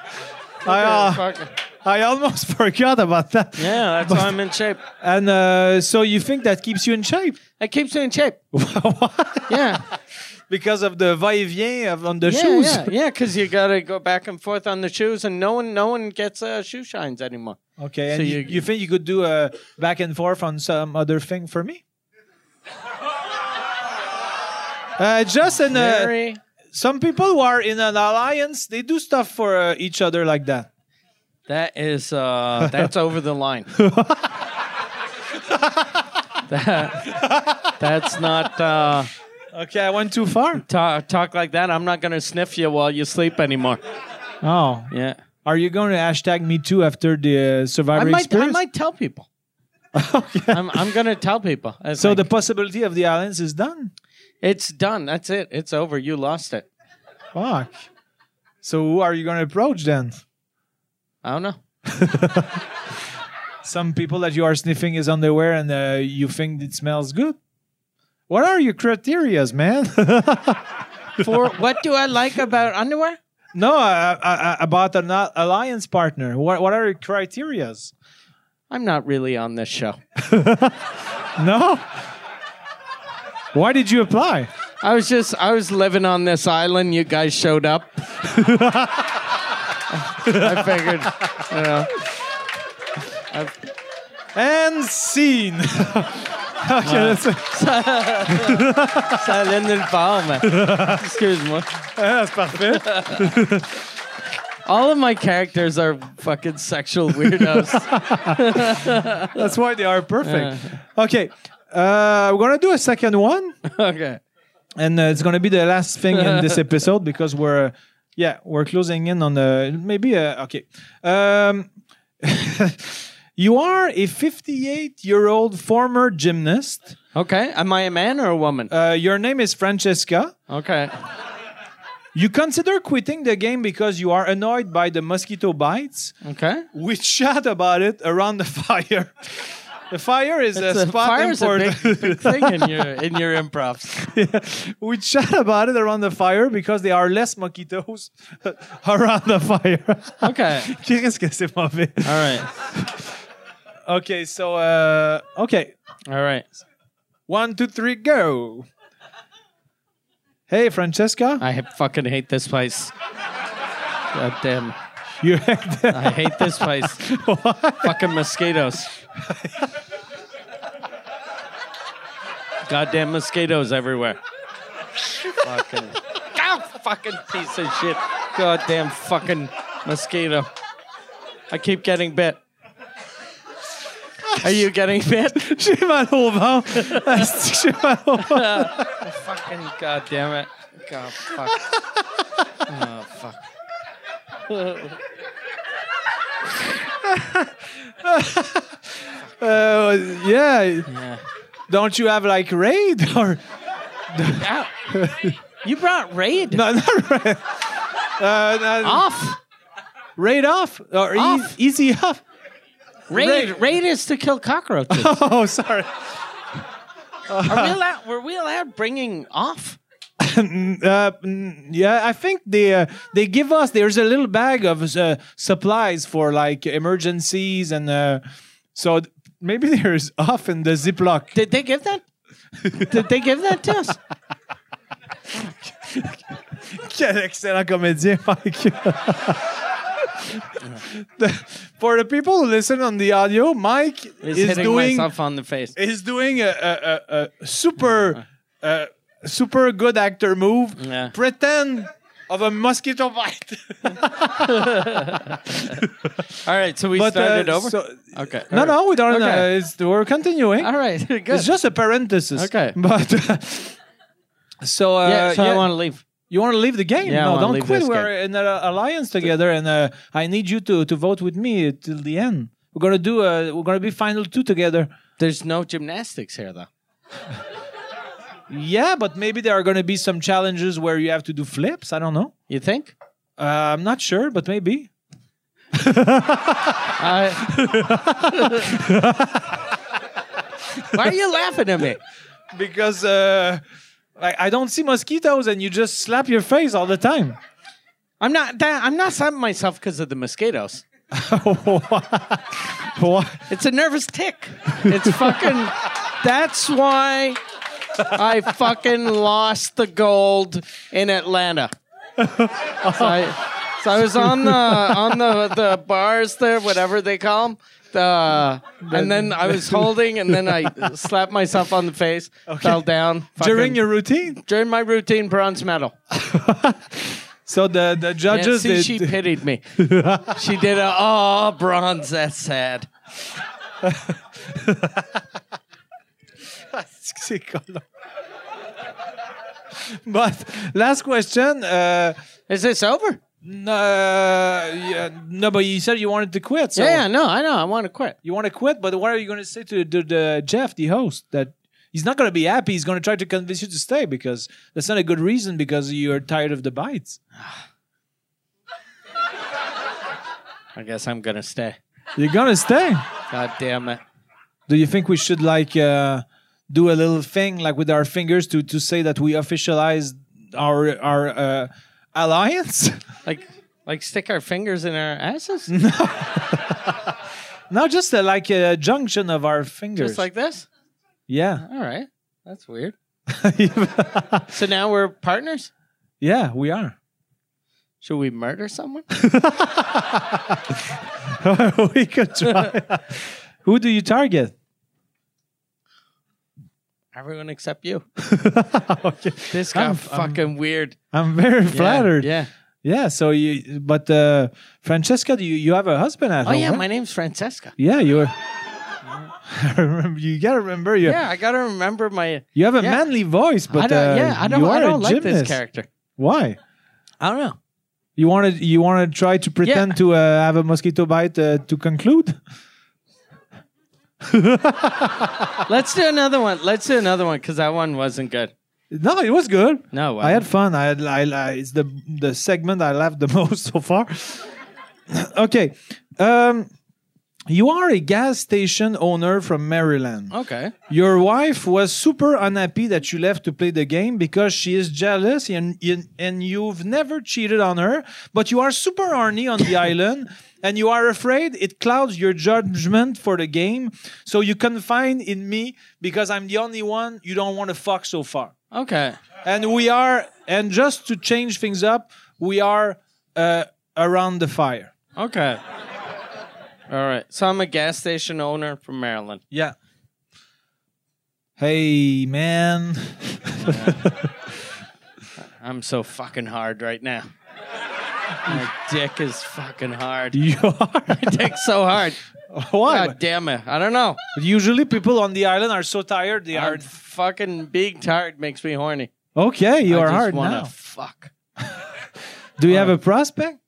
I almost forgot about that. Yeah, that's why I'm in shape. And so you think that keeps you in shape? It keeps me in shape. Yeah. Because of the va-et-vient on the shoes? Yeah, because you got to go back and forth on the shoes, and no one gets shoe shines anymore. Okay, So and you think you could do a back and forth on some other thing for me? Just in some people who are in an alliance, they do stuff for each other like that. That is that's over the line. That's not. Okay, I went too far. Talk like that. I'm not going to sniff you while you sleep anymore. Oh. Yeah. Are you going to hashtag me too after the Survivor experience? I might tell people. Okay. I'm going to tell people. So the possibility of the alliance is done? It's done. That's it. It's over. You lost it. Fuck. So who are you going to approach then? I don't know. Some people that you are sniffing his underwear and you think it smells good? What are your criterias, man? For what do I like about underwear? No, about an alliance partner. What are your criterias? I'm not really on this show. No? Why did you apply? I was living on this island. You guys showed up. I figured, you know. And scene. Okay, that's it. Ça allait nulle part, mais... Excuse-moi. That's parfait. All of my characters are fucking sexual weirdos. That's why they are perfect. Okay, we're gonna do a second one, Okay. and it's gonna be the last thing in this episode because we're closing in on the maybe. Okay. You are a 58-year-old former gymnast. Okay. Am I a man or a woman? Your name is Francesca. Okay. You consider quitting the game because you are annoyed by the mosquito bites. Okay. We chat about it around the fire. The fire is a spot fire's important. a big thing in your improvs. Yeah. We chat about it around the fire because there are less mosquitoes around the fire. Okay. Qu'est-ce que c'est mauvais? All right. Okay, so okay. All right. 1, 2, 3, go. Hey, Francesca. I fucking hate this place. God damn. You I hate this place. Fucking mosquitoes. Goddamn mosquitoes everywhere. Fucking. Ow, fucking piece of shit. Goddamn fucking mosquito. I keep getting bit. Are you getting bit? J'ai mal au ventre. J'ai mal au ventre. Fucking goddamn it. God, fuck. Oh, fuck. Yeah. Yeah. Don't you have like raid or Ow. You brought Raid no? Not raid. off. Raid off or Off. easy off. Raid is to kill cockroaches. Oh, sorry. Were we allowed bringing off? Yeah, I think they give us. There's a little bag of supplies for like emergencies, and so maybe there's off in the Ziploc. Did they give that? Did they give that to us? Quel excellent comédien, Mike. For the people who listen on the audio, Mike Is is hitting doing myself on the face. is doing a super super good actor move. Yeah. Pretend of a mosquito bite. All right, so we started over. so- Okay. no, we don't. Okay. We're continuing. All right. Good. It's just a parenthesis. Okay. But so I want to leave. you want to leave the game? Yeah, I no, wanna don't leave quit. this We're in an alliance together, and I need you to vote with me till the end. We're gonna do. We're gonna be final 2 together. There's no gymnastics here, though. Yeah, but maybe there are gonna be some challenges where you have to do flips. I don't know. You think? I'm not sure, but maybe. Why are you laughing at me? Because I don't see mosquitoes, and you just slap your face all the time. I'm not slapping myself because of the mosquitoes. Why? It's a nervous tick. It's fucking. That's why I fucking lost the gold in Atlanta. So I was on the bars there, whatever they call them. And then I was holding, and then I slapped myself on the face, fell down. During your routine? During my routine, bronze medal. So the judges... Yeah, see, she pitied me. She did bronze, that's sad. C'est collant. But last question. Is this over? No, but you said you wanted to quit. So Yeah, no, I know. I want to quit. you want to quit, but what are you going to say to the Jeff, the host, that he's not going to be happy? He's going to try to convince you to stay because that's not a good reason because you're tired of the bites. I guess I'm going to stay. You're going to stay. God damn it. Do you think we should like do a little thing like with our fingers to say that we officialized our alliance? Like stick our fingers in our asses? No, just like a junction of our fingers. Just like this? Yeah. All right. That's weird. So now we're partners? Yeah, we are. Should we murder someone? We could try. Who do you target? Everyone except you. Okay. This got fucking weird. I'm very flattered. Yeah. Yeah. So but Francesca, you have a husband at Oh, home? yeah. Right? My name's Francesca. Yeah, you. I remember. You gotta remember. Yeah, I got to remember my. You have a Yeah. manly voice, but I don't like this gymnast. character. Why? I don't know. You want to try to pretend to have a mosquito bite to conclude? Let's do another one. Because that one wasn't good. No, it was good. No, I had fun. I it's the segment I laughed the most so far. Okay. You are a gas station owner from Maryland. Okay. Your wife was super unhappy that you left to play the game because she is jealous and you've never cheated on her, but you are super horny on the island and you are afraid it clouds your judgment for the game. So you confide in me because I'm the only one you don't want to fuck so far. Okay. And just to change things up, we are around the fire. Okay. All right. So I'm a gas station owner from Maryland. Yeah. Hey, man. I'm so fucking hard right now. My dick is fucking hard. You are? My dick's so hard. Why? God damn it. I don't know. Usually people on the island are so tired they are... Fucking being tired makes me horny. Okay, you are I just hard wanna now. Fuck. Do you have a prospect?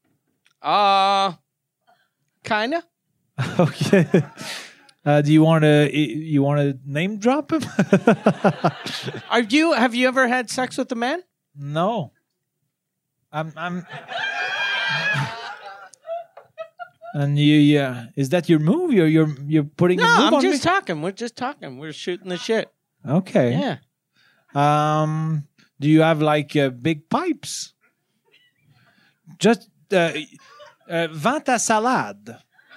Kinda. Okay. Do you want to name drop him? Have you ever had sex with a man? No. I'm And is that your move? You're putting a No, move I'm on just me? talking. We're just talking. We're shooting the shit. Okay. Yeah. Do you have like big pipes? Just vend ta salade.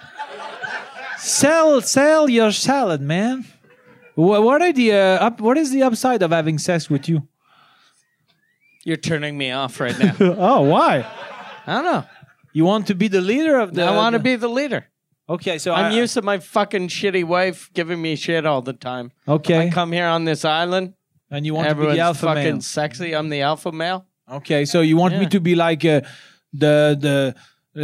Sell your salad, man. What are the what is the upside of having sex with you? You're turning me off right now. Oh, why? I don't know. You want to be the leader of the... I want to be the leader. Okay, so I'm used to my fucking shitty wife giving me shit all the time. Okay. I come here on this island. And you want Everyone's to be the alpha fucking male. sexy. I'm the alpha male. Okay, so you want me Yeah. to be like the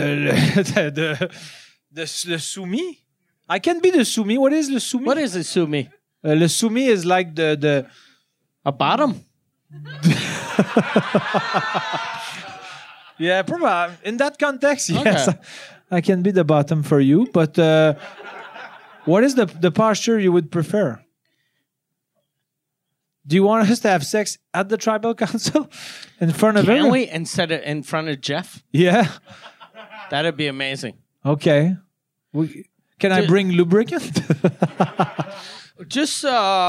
soumis? I can be the soumis. What is the soumis? What is it, Sumi? Le soumis is like the A bottom? yeah, probably in that context. Yes, Okay. I can be the bottom for you. But what is the posture you would prefer? Do you want us to have sex at the tribal council in front of Can everyone? we instead of in front of Jeff? Yeah. That'd be amazing. Okay. Can I bring lubricant? Just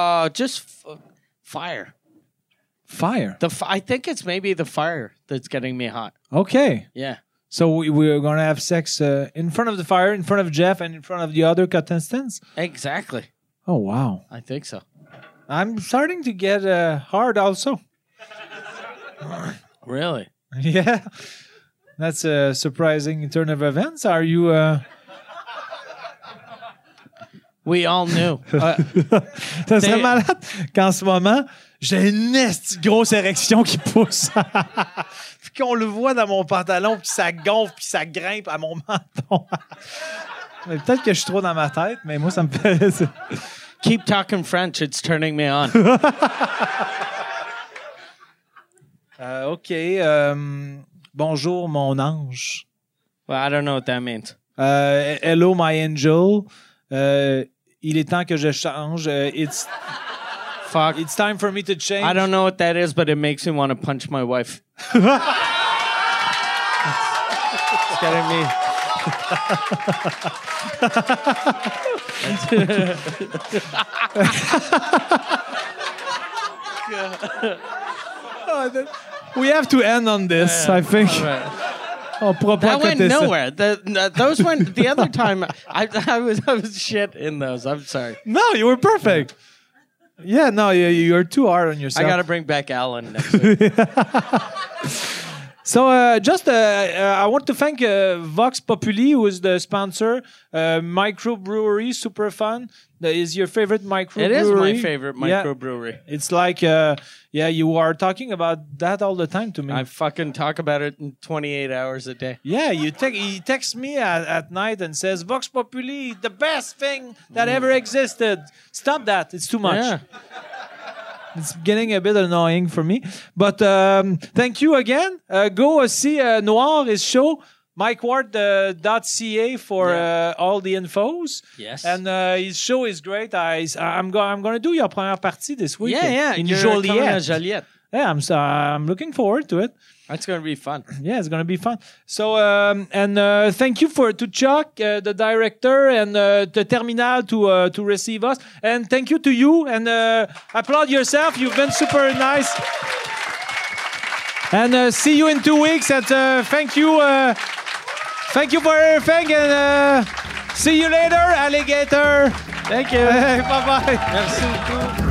fire. Fire. I think it's maybe the fire that's getting me hot. Okay. Yeah. So we're going to have sex in front of the fire, in front of Jeff, and in front of the other contestants? Exactly. Oh, wow. I think so. I'm starting to get hard also. Really? Yeah. That's a surprising turn of events. Are you... We all knew. Ça serait malade qu'en ce moment, j'ai une grosse érection qui pousse. Puis qu'on le voit dans mon pantalon, puis ça gonfle, puis ça grimpe à mon menton. Mais peut-être que je suis trop dans ma tête, mais moi, ça me fait... Keep talking French. It's turning me on. OK. Bonjour, mon ange. Well, I don't know what that means. Hello, my angel. Il est temps que je change. Fuck. It's time for me to change. I don't know what that is, but it makes me want to punch my wife. It's getting me. We have to end on this, I think. On pourra pas That went coter ça. nowhere. Those went the other time. I was shit in those. I'm sorry. No, you were perfect. Yeah, no, you're too hard on yourself. I got to bring back Alan next week. So I want to thank Vox Populi, who is the sponsor. Microbrewery, super fun. That is your favorite microbrewery? It is my favorite microbrewery. Yeah. It's like, you are talking about that all the time to me. I fucking talk about it in 28 hours a day. Yeah, he texts me at night and says, Vox Populi, the best thing that ever existed. Stop that. It's too much. Yeah. It's getting a bit annoying for me. But thank you again. Go see Noir, his show, MikeWard.ca for all the infos. Yes. And his show is great. I'm going to do your première partie this week. Yeah. In You're Joliet. coming to Joliet. Yeah, I'm looking forward to it. That's going to be fun. Yeah, it's going to be fun. So, thank you to Chuck, the director, and the Terminal to receive us. And thank you to you. And applaud yourself. You've been super nice. And see you in 2 weeks. And thank you for everything. And see you later, alligator. Thank you. Bye-bye. Merci beaucoup.